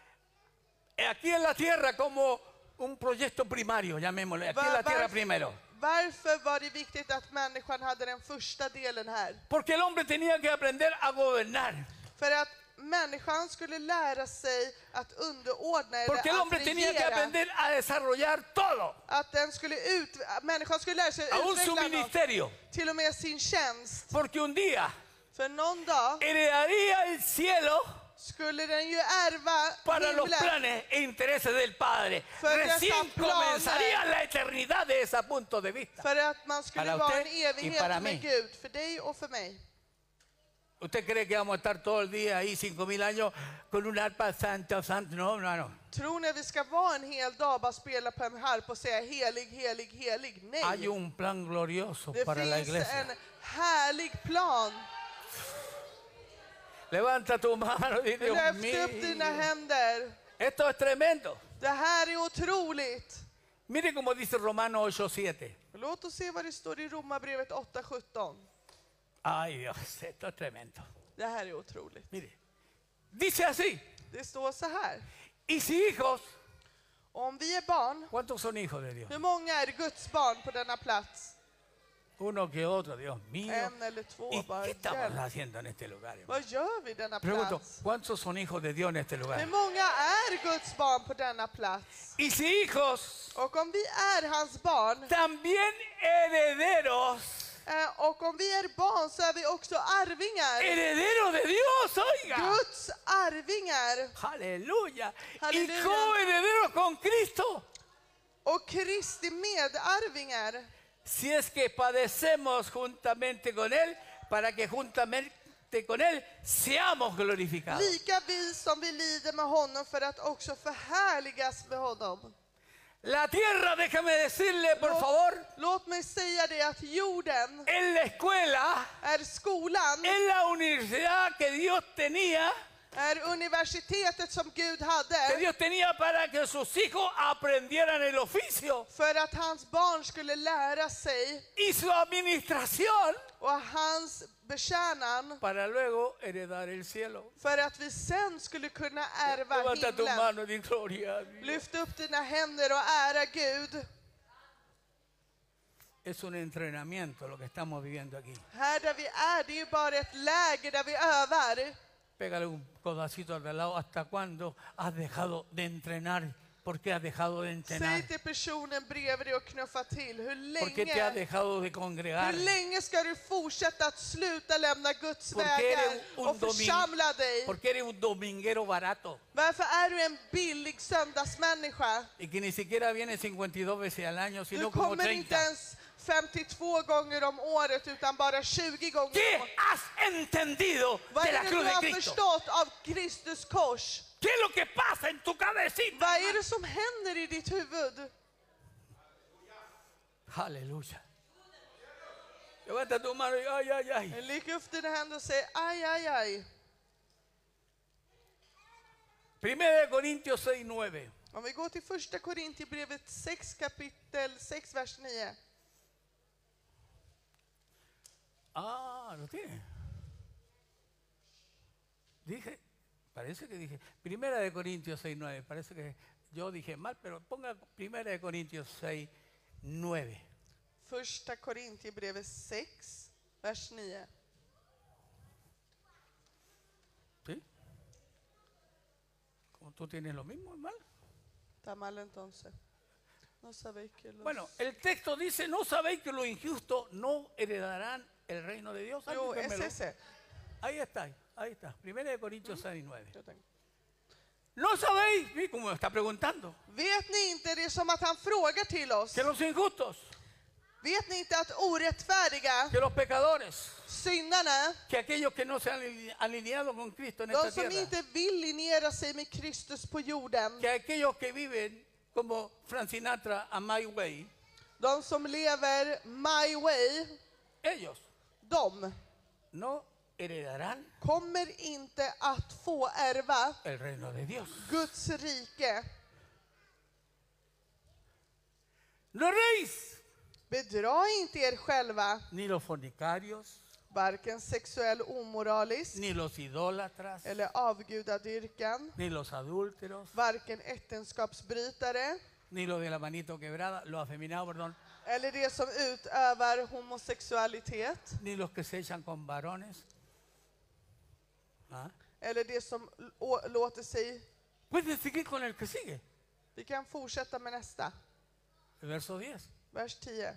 aquí en la tierra como un proyecto primario, llamémosle, aquí en la tierra primero. Varför var det viktigt att människan hade den första delen här? Porque el hombre tenía que aprender a gobernar. För att människan skulle lära sig att underordna Porque el eller hombre att tenía que regera. aprender a desarrollar todo, Att den skulle människan skulle lära sig aún su utveckla något, ministerio. till och med sin tjänst. Porque un día För någon dag heredaría el cielo skulle den ju ärva para los himlen. planes e intereses del Padre. För dessa Recién planer. comenzaría la eternidad de ese punto de vista. För att man skulle Para vara usted en y evighet para med mí. Gud. För dig och för mig. ¿Usted cree que vamos a estar todo el día ahí, 5.000 años, con un arpa santo, santo? No, no, no. Tror ni vi ska vara en hel dag bara spela på en harp och säga helig, helig, helig? Nej. Hay un plan glorioso Det para la finns iglesia. en härlig plan. Levanta tu mano y Dios Lyft upp dina mío. händer. Esto es tremendo. Det här är otroligt. Mire cómo dice Romano 8:7. Låt oss se vad det står i Romarbrevet 8:17. Ay Dios, esto es tremendo. Det här är otroligt. Mire, dice así. Det står så här. Y si hijos, Om vi är barn, ¿cuántos son hijos de Dios? hur många är Guds barn på denna plats? Uno que otro, Dios mío. En eller två, ¿Y bara qué estamos hjälp. haciendo en este lugar, hermano? Vad gör vi i denna Pregunto, plats? ¿cuántos son hijos de Dios en este Hur lugar? många är Guds barn på denna plats? Y si hijos, Och om vi är hans barn, también herederos. och om vi är barn så är vi också arvingar. Herederos de Dios, oiga. Guds arvingar. Aleluya. Y Aleluya. coherederos con Cristo. Och Kristi medarvingar. Si es que padecemos juntamente con Él, para que juntamente con Él seamos glorificados. Lika vi som vi lider med honom för att också förhärligas med honom. La tierra, déjame decirle, por favor, Låt mig säga det att jorden en la escuela, är skolan, en la universidad que Dios tenía är universitetet som Gud que hade Dios tenía para que sus hijos aprendieran el oficio för att hans barn skulle lära sig y su administración och hans betjänan para luego heredar el cielo. för att vi sen skulle kunna ärva Levanta tu himlen. mano y di gloria a Dios. Lyft upp dina händer och ära Gud. Es un entrenamiento lo que estamos viviendo aquí. Här där vi är, det är ju bara ett läger där vi övar. Pégale un codacito al de al lado. ¿Hasta cuándo has dejado de entrenar? ¿Por qué has dejado de entrenar? Säg till personen bredvid dig och knuffa till. ¿Por qué te has Hur dejado de congregar? länge ska du fortsätta att sluta lämna Guds Porque vägar eres un och församla dig? Porque eres un dominguero barato Varför är du en billig söndagsmänniska? y que ni siquiera viene 52 veces al año, Du sino como kommer inte 30. ens 52 gånger om året utan bara 20 gånger ¿Qué om året. has entendido Vad de är la det cruz du de har Cristo? förstått av Kristus kors? ¿Qué es lo que pasa en tu cabecita? Vad är det som händer i ditt huvud? Aleluya. Levanta tu mano y ay, ay, ay. Lyft upp dina händer och säg aj, aj, aj. Primera de Corintios 6:9. Om vi går till första Korintierbrevet 6 kapitel 6 vers 9. Ah, lo tiene. Dije, parece que dije, Primera de Corintios 6:9. Parece que yo dije mal, pero ponga Primera de Corintios 6:9. Första Korintierbrevet 6 vers 9. ¿Sí? Como tú tienes lo mismo, mal. Está mal entonces. No sabéis que los... Bueno, el texto dice, ¿no sabéis que los injustos no heredarán el reino de Dios? Jo, es Dígamelo. ese. Ahí está. Primera de Corintios 6:9. Jag tänker. ¿No sabéis? Mira cómo me está preguntando. Vet ni inte, det är som att han frågar till oss. Que los injustos, Vet ni inte att orättfärdiga, que los pecadores, syndarna, que aquellos que no se han alineado con Cristo en esta de som tierra, inte vill linjera sig med Kristus på jorden, que aquellos que viven como Frank Sinatra a My Way, de som lever my way, ellos de no heredarán kommer inte att få ärva el reino de Dios. Guds rike. No erréis, Bedra inte er själva, ni los fornicarios, varken sexuell omoralisk ni los idólatras, eller avgudadyrkan, ni los adúlteros, varken äktenskapsbrytare ni los de la manito quebrada, los afeminados, perdón, eller de som utövar homosexualitet, ni los que se echan con varones. ¿Ah? eller de som låter sig... Pueden seguir con el que sigue. Vi kan fortsätta med nästa. El verso 10. Vers 10.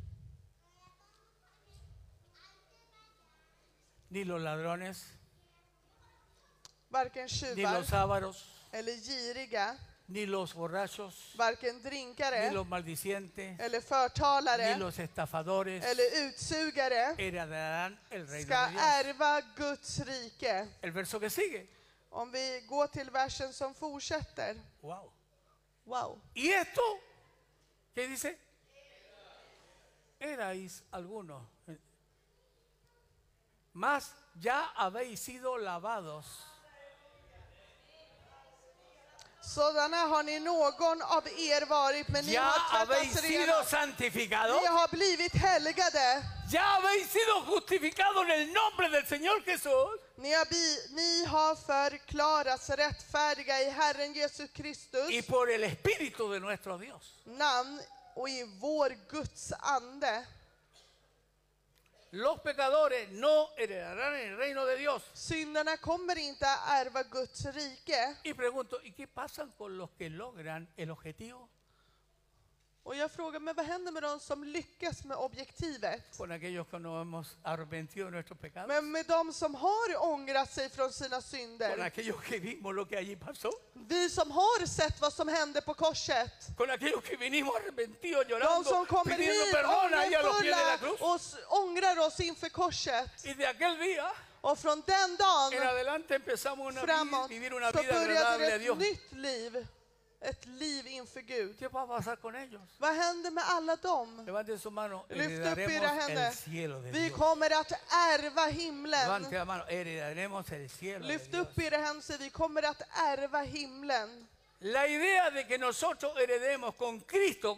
Ni los ladrones, Varken ni tjuvar los ávaros, eller giriga, ni los borrachos, varken ni drinkare los maldicientes, eller ni förtalare los estafadores eller utsugare heredarán el reino ska de Dios. ärva Guds rike. El verso que sigue. Om vi går till versen som fortsätter. Wow. Wow. ¿Y esto? ¿Qué dice? Erais algunos, mas ya habéis sido lavados. Sådana har ni någon av er varit, men ni Ya har habéis tvättats sido rena. santificados. Ni har blivit helgade. Ya habéis sido justificados en el nombre del Señor Jesús. Ni har förklarats rättfärdiga i Herren Jesus Kristus Y por el Espíritu de nuestro Dios. namn och i vår Guds ande. Los pecadores no heredarán el reino de Dios. Syndarna kommer inte att ärva Guds rike. Y pregunto, ¿y qué pasa con los que logran el objetivo? Och jag frågar, men vad händer med de som lyckas med objektivet? Con aquellos que nos hemos arrepentido de nuestros pecados. Men med de som har ångrat sig från sina Con synder. aquellos que vimos lo que allí pasó. Vi som har sett vad som hände på korset. Con aquellos que vinimos arrepentidos, De llorando, som kommer pidiendo hit perdón ahí a los pies de la ångerfulla cruz. och ångrar oss inför korset. Y de aquel día Och från den dagen en adelante empezamos una framåt vivir una så vida började agradable a ett Dios. nytt liv. Ett liv inför Gud. ¿Qué va a pasar con ellos? Vad händer med alla dem? Levanten su mano, Lyft upp era heredaremos händer. el cielo de Vi Dios. kommer att ärva Levante himlen. la mano, heredaremos el cielo de Lyft Dios. upp era händer, så vi kommer att ärva himlen. La idea de que nosotros heredemos con Cristo,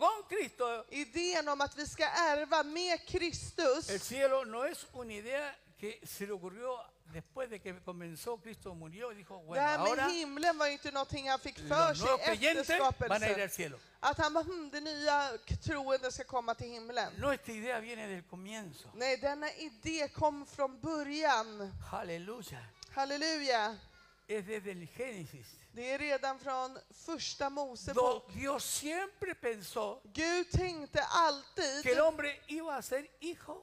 Idén om att vi ska ärva med Kristus. el cielo no es una idea que se le ocurrió después de que comenzó, Cristo murió y dijo, Det bueno, här med ahora himlen var ju inte någonting han fick för los sig nuevos efter creyentes van a ir skapelsen. al cielo. Att han bara, det nya troende ska komma till himlen. No, esta idea viene del comienzo. Nej, denna idé kom från början. Aleluya. Halleluja. Es desde el Génesis. Det är redan från första Do Mosebok. Dios siempre pensó Gud tänkte que alltid el hombre iba a ser hijo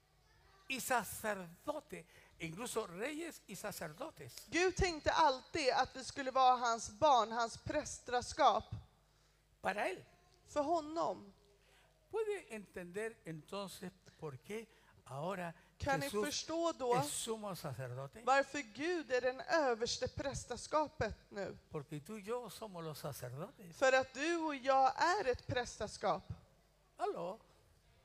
y sacerdote, incluso reyes y sacerdotes. Gud tänkte alltid att vi skulle vara hans barn, hans prästraskap. Para él. För honom. ¿Puede entender entonces por qué ahora Kan ni Jesús förstå då es sumo sacerdote? varför Gud är den överste prästaskapet nu? Porque tú y yo somos los sacerdotes. För att du och jag är ett prästaskap. Aló.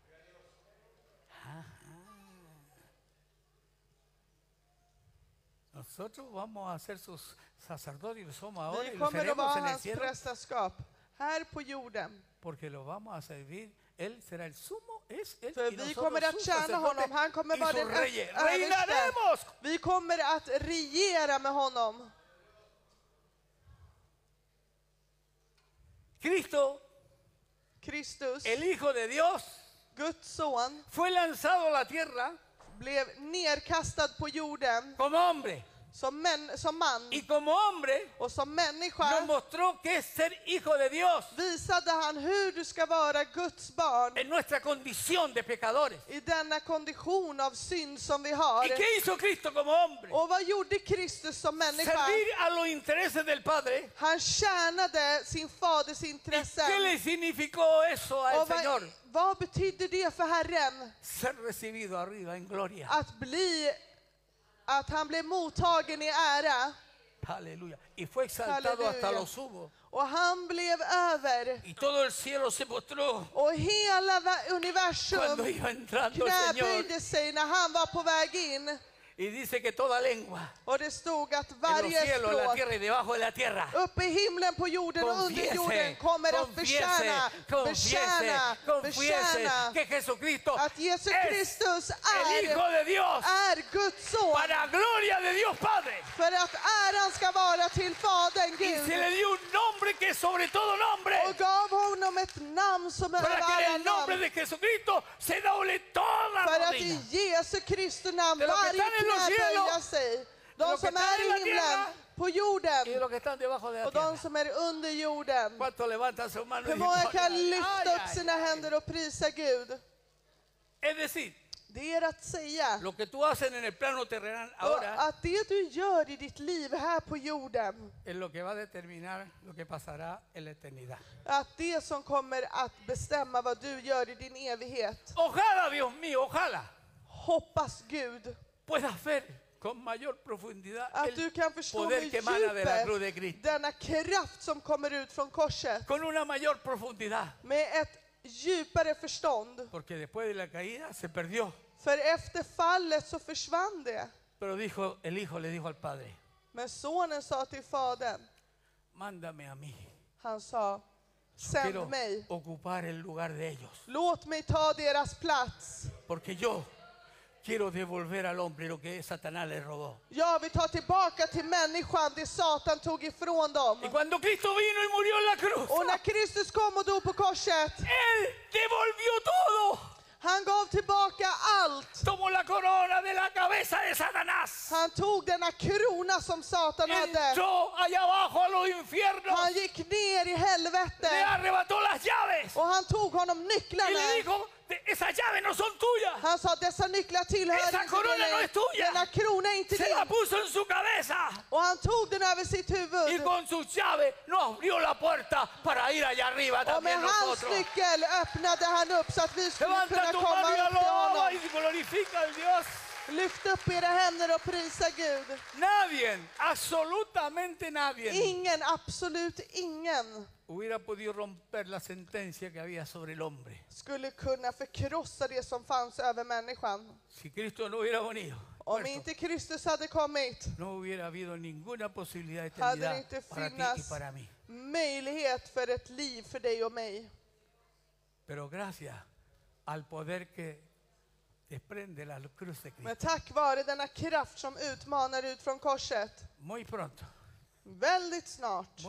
Ajá. Nosotros vamos a ser sus sacerdotes, y somos ahora y Vi lo kommer att seremos vara en el hans cielo, prästerskap här på jorden. porque lo vamos a servir. Él será el sumo, es él För y vi nosotros kommer att sus tjäna sacerdotes honom. Han kommer y vara sus den reyes. överste. Reinaremos. Vi kommer att regera med honom. Cristo, Kristus, el Hijo de Dios, Guds son, fue lanzado a la tierra blev nerkastad på jorden como hombre. som man Y como hombre och som nos människa mostró que es ser hijo de Dios visade han hur du ska vara Guds barn en nuestra condición de pecadores. i denna kondition av synd som vi har. ¿Y qué hizo Cristo como hombre? Och vad gjorde Kristus som människa? Servir a los intereses del Padre. Han tjänade sin faders ¿Y intressen. qué le significó eso al Och Señor? vad betyder det för Herren? Ser recibido arriba en gloria. Att han blev mottagen i ära. Aleluya. Y fue exaltado Aleluya. hasta lo sumo. Och han blev över. Y todo el cielo se postró Och hela universum cuando iba entrando el Señor. knäböjde sig när han var på väg in. Y dice que toda lengua Och det stod att en los varje cielos, en la språk tierra y debajo de la tierra uppe i himlen, på jorden och under jorden kommer att bekänna que Jesucristo att Jesus es Kristus el Hijo de Dios är Guds son. para gloria de Dios Padre. För att äran ska vara till Fadern Y Gud. se le dio un nombre que es sobre todo nombre, Och gav honom ett namn som är para över que en alla el nombre namn. de Jesucristo se doble toda För att rodilla. i Jesu Kristi namn De los que varje están en los knä cielos, böja sig. de De los que som están är en i la himlen, tierra, på Y jorden los que están debajo de la och de tierra. som är under jorden. ¿Cuánto levantan su mano y Hur dicen, många "Gloria a kan Dios"? lyfta Ay, upp ay, sina ay. händer och prisa Gud? Es decir, Det är att säga lo que tú haces en el plano terrenal och ahora att det du gör i ditt liv här på jorden, es lo que va a determinar lo que pasará en la eternidad. att det som kommer att bestämma vad du gör i din evighet. Ojalá, Dios mío, ojalá Hoppas Gud puedas ver con mayor profundidad att du el kan förstå poder med que emana de la cruz de djupet Cristo. denna kraft som kommer ut från korset. Con una mayor profundidad. Med ett djupare förstånd. Porque después de la caída se perdió. För efter fallet så försvann det. Pero dijo, el hijo le dijo al padre, Men sonen sa till fadern, mándame a mí. han sa, Quiero sänd mig. ocupar el lugar de ellos. Låt mig ta deras plats. Porque yo quiero devolver al hombre lo que Satanás le robó. Jag vill ta tillbaka till människan det Satan tog ifrån dem. Y cuando Cristo vino y murió en la cruz, Och när Kristus kom och dog på korset, Él devolvió todo. han gav tillbaka allt. Tomó la corona de la cabeza de Satanás. Han tog denna krona som Satan hade. Entró allá abajo a los infiernos. Han gick ner i Le helvetet. arrebató las llaves. Och han tog honom Y le nycklarna. dijo, esas llaves no son tuyas. Han sa, dessa nycklar tillhör Esa inte corona dig. no es tuya. Denna krona är inte Se la din. puso en su cabeza. Och han tog den över sitt Y huvud. con sus llaves nos abrió la puerta para ir allá arriba Och med también hans nosotros. nyckel öppnade han upp så att vi skulle Levanta kunna tu komma mano y upp till alaba honom. y glorifica al Dios. Lyft upp era händer och prisa Gud. Nadie, absolutamente nadie, Ingen, absolut ingen, hubiera podido romper la sentencia que había sobre el hombre. skulle kunna förkrossa det som fanns över människan. Si Cristo no hubiera venido, Om muerto, inte Kristus hade kommit, no hubiera habido ninguna posibilidad de hade det eternidad inte para ti y funnits para mí. möjlighet för ett liv för dig och mig. Pero gracias al poder que desprende la cruz de Men Cristo, tack vare denna kraft som utmanar ut från korset, muy pronto, väldigt snart,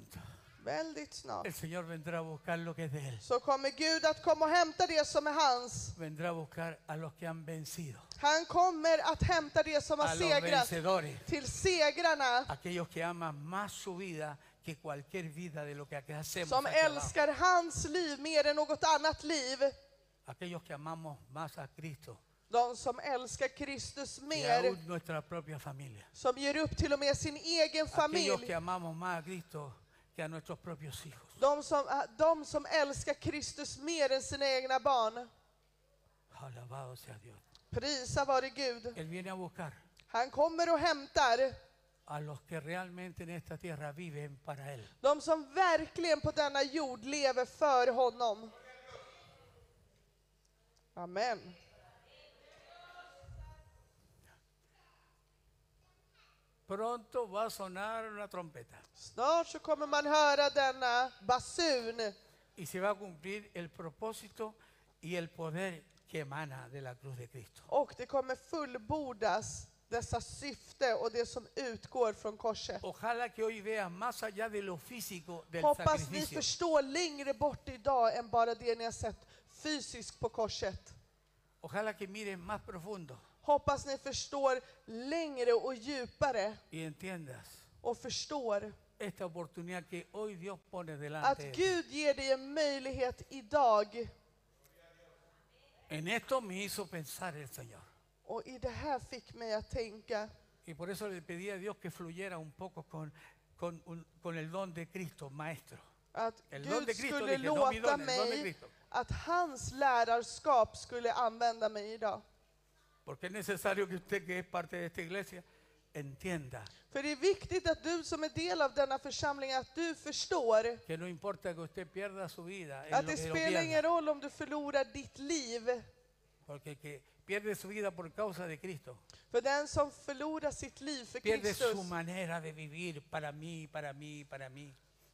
el Señor vendrá a buscar lo que es de Él. så kommer Gud att komma och hämta det som är hans. Vendrá a buscar a los que han vencido, Han kommer att hämta det som har a los segrat vencedores, till segrarna, aquellos que aman más su vida que cualquier vida de lo que aquí hacemos, som aquí abajo. älskar hans liv mer än något annat liv. Aquellos que amamos más a Cristo De som älskar Kristus que mer, aún nuestra propia familia. som ger upp till och med sin egen Aquellos familj. que amamos más a Cristo que a nuestros propios hijos. De som älskar Kristus mer än sina egna barn. Alabado sea Dios. Prisa vare Gud. Él viene a buscar Han kommer och hämtar a los que realmente en esta tierra viven para Él. de som verkligen på denna jord lever för honom. Amen. pronto va a sonar una trompeta Snart så kommer man höra denna basun y se va a cumplir el propósito y el poder que emana de la cruz de Cristo. och det kommer fullbordas dessa syfte och det som utgår från korset. Ojalá que hoy veas más allá de lo físico del Hoppas ni sacrificio. förstår längre bort idag än bara det ni har sett fysiskt på korset. Ojalá que mires más profundo Hoppas ni förstår längre och djupare y entiendas och förstår esta oportunidad que hoy Dios pone att delante de ti. Gud ger dig en möjlighet idag. En esto me hizo pensar el Señor. Och i det här fick mig att tänka. Y por eso le pedí a Dios que fluyera un poco con el don de Cristo, maestro. Att El don de Gud Cristo, skulle dije, no mi låta don, el don de mig Cristo. att hans lärarskap skulle använda mig idag. Porque es necesario que usted, que es parte de esta iglesia, entienda För det är viktigt att du som är del av denna församling, att du förstår que no importa que usted pierda su vida, en att lo det que lo spelar ingen pierda, roll om du förlorar ditt liv. porque el que pierde su vida por causa de Cristo, För den som förlorar sitt liv för pierde Kristus, su manera de vivir para mí, para mí, para mí.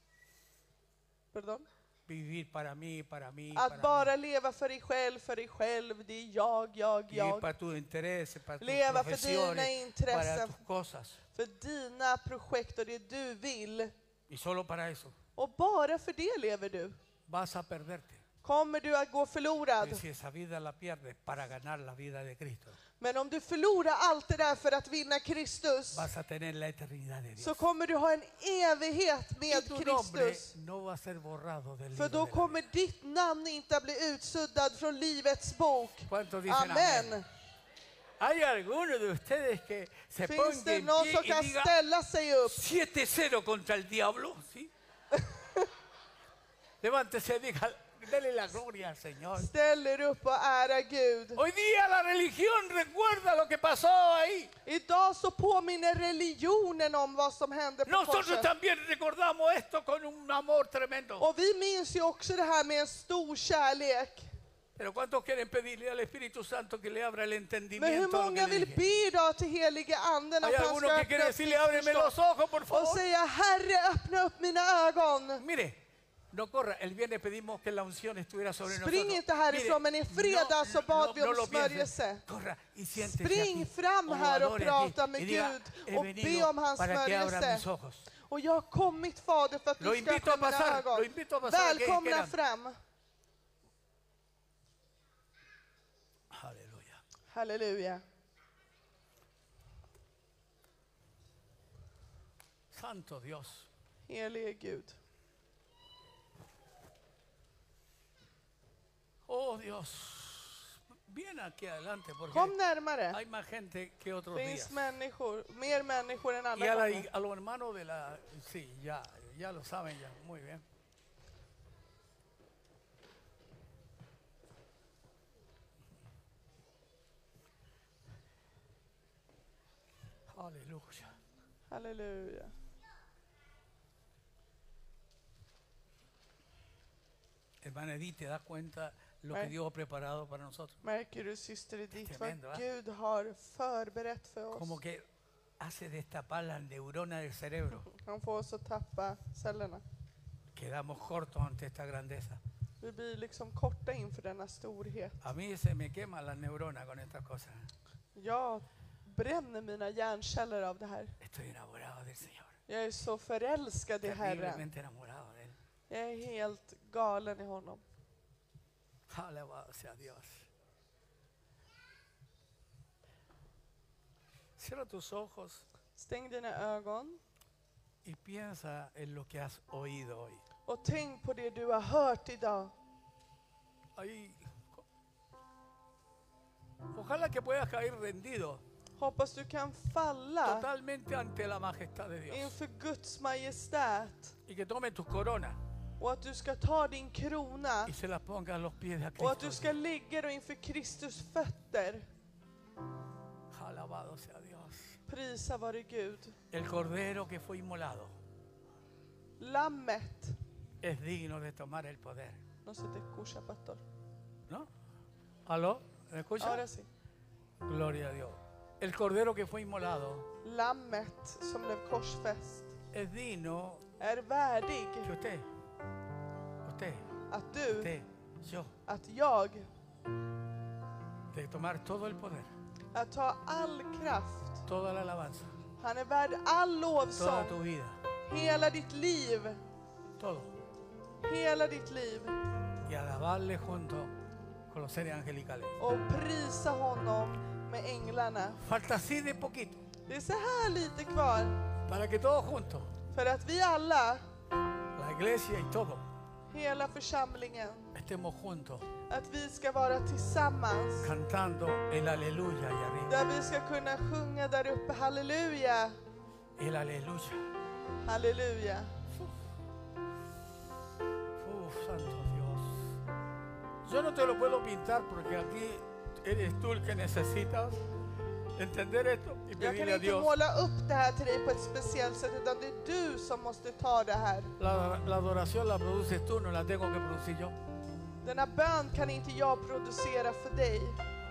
pardon, Vivir para mí, para mí, att para bara leva för dig själv, det är jag, mí. Vivir jag. para tus intereses, para tus Leva för dina profesiones, para intressen, tus cosas. för dina projekt och det du vill. Y solo para eso Och bara för det lever du. vas a perderte. Kommer du att gå förlorad. Y si esa vida la pierdes para ganar la vida de Cristo, Men om du förlorar allt det där för att vinna Kristus, vas a tener la eternidad de så Dios. kommer du ha en evighet Y med tu nombre Kristus. no va a ser borrado del För libro då de la kommer ditt namn inte att bli utsuddad från livets bok. vida. ¿Cuántos dicen Amen. amén? Hay algunos de ustedes que se Finns pongan det en någon pie som y kan diga ställa sig upp? 7-0 contra el diablo, ¿sí? Levántese y diga, dele la gloria al Señor. Ställ er upp och ära Gud. Hoy día la religión recuerda lo que pasó ahí. Idag så påminner religionen om vad som hände på Nosotros korset. también recordamos esto con un amor tremendo. Och vi minns ju också det här med en stor kärlek. Pero ¿cuántos quieren pedirle al Espíritu Santo que le abra el Men hur entendimiento a lo que många le vill dije? be idag till helige anden Hay att han algunos ska que quieren öppna upp decirle, ditt ábreme los förstånd ojos, por och favor. säga, Herre, öppna upp mina ögon. Mire, no corra. El viernes pedimos que la unción estuviera sobre nosotros. Spring inte härifrån, men i fredag så bad vi om lo piense. smörjelse. Corra y siéntese Spring aquí. fram O här och adore prata aquí med y diga, Gud he och be venido om hans para que abra smörjelse. mis ojos. Och jag har kommit, Fader, för att Lo du ska invito a öppna mina pasar, ögon. lo invito a pasar a que Välkomna quieran. fram. Aleluya. Halleluja. Santo Dios. Helige Gud. Oh Dios. Bien aquí adelante porque Kom närmare. hay más gente que otros Det días. finns människor, mer människor än Y andra gånger. a los hermanos de la... Sí, ya lo saben ya. Muy bien. Aleluya. Halleluja. Hermana Edith, ¿te das cuenta lo Nej. que Dios ha preparado para nosotros? Märker du, syster Edith, vad tremendo, va? Gud har förberett för oss? Como que hace destapar las neuronas del cerebro. Han får oss att tappa cellerna. Quedamos cortos ante esta grandeza. Vi blir liksom korta inför denna storhet. A mí se me queman las neuronas con estas cosas. Jag bränner mina hjärnceller av det här. Estoy enamorado del Señor. Jag är så förälskad i Herren. Terriblemente enamorado de Él. Jag är helt galen i honom. Alabado sea Dios. Cierra tus ojos Stäng dina ögon y piensa en lo que has oído hoy. och tänk på det du har hört idag. Ahí, ojalá que puedas caer rendido Hoppas du kan falla totalmente ante la majestad de Dios inför Guds majestät y que tome tus coronas och att du ska ta din krona y se las ponga a los pies de och att du Cristo. ska ligga då inför Kristus fötter. Alabado sea Dios. Prisa vare Gud. El cordero que fue inmolado Lammet. es digno de tomar el poder. No se te escucha, pastor. ¿No? ¿Aló? ¿Me escucha? Ahora sí. Gloria a Dios. el cordero que fue inmolado lammet som blev korsfäst, es digno är värdig que usted, att du, yo, att jag, de tomar todo el poder, att ta all kraft. toda la alabanza, Han är värd all toda lovsång, tu vida, hela ditt liv, todo. hela ditt liv, Y alabarle junto con los seres angelicales. och prisa honom med änglarna. Falta así de poquito Det är så här lite kvar para que todos juntos, för att vi alla, la iglesia y todo, hela församlingen, estemos juntos att vi ska vara tillsammans. cantando el aleluya y arriba. Där vi ska kunna sjunga där uppe, halleluja, El aleluya. halleluja. Santo Dios. Yo no te lo puedo pintar porque aquí eres tú el que necesitas entender esto y Jag kan pedirle a inte Dios. måla upp det här till dig på ett speciellt sätt, utan det är du som måste ta det här. La adoración la produces tú, no la tengo que producir yo. Denna bön kan inte jag producera för dig.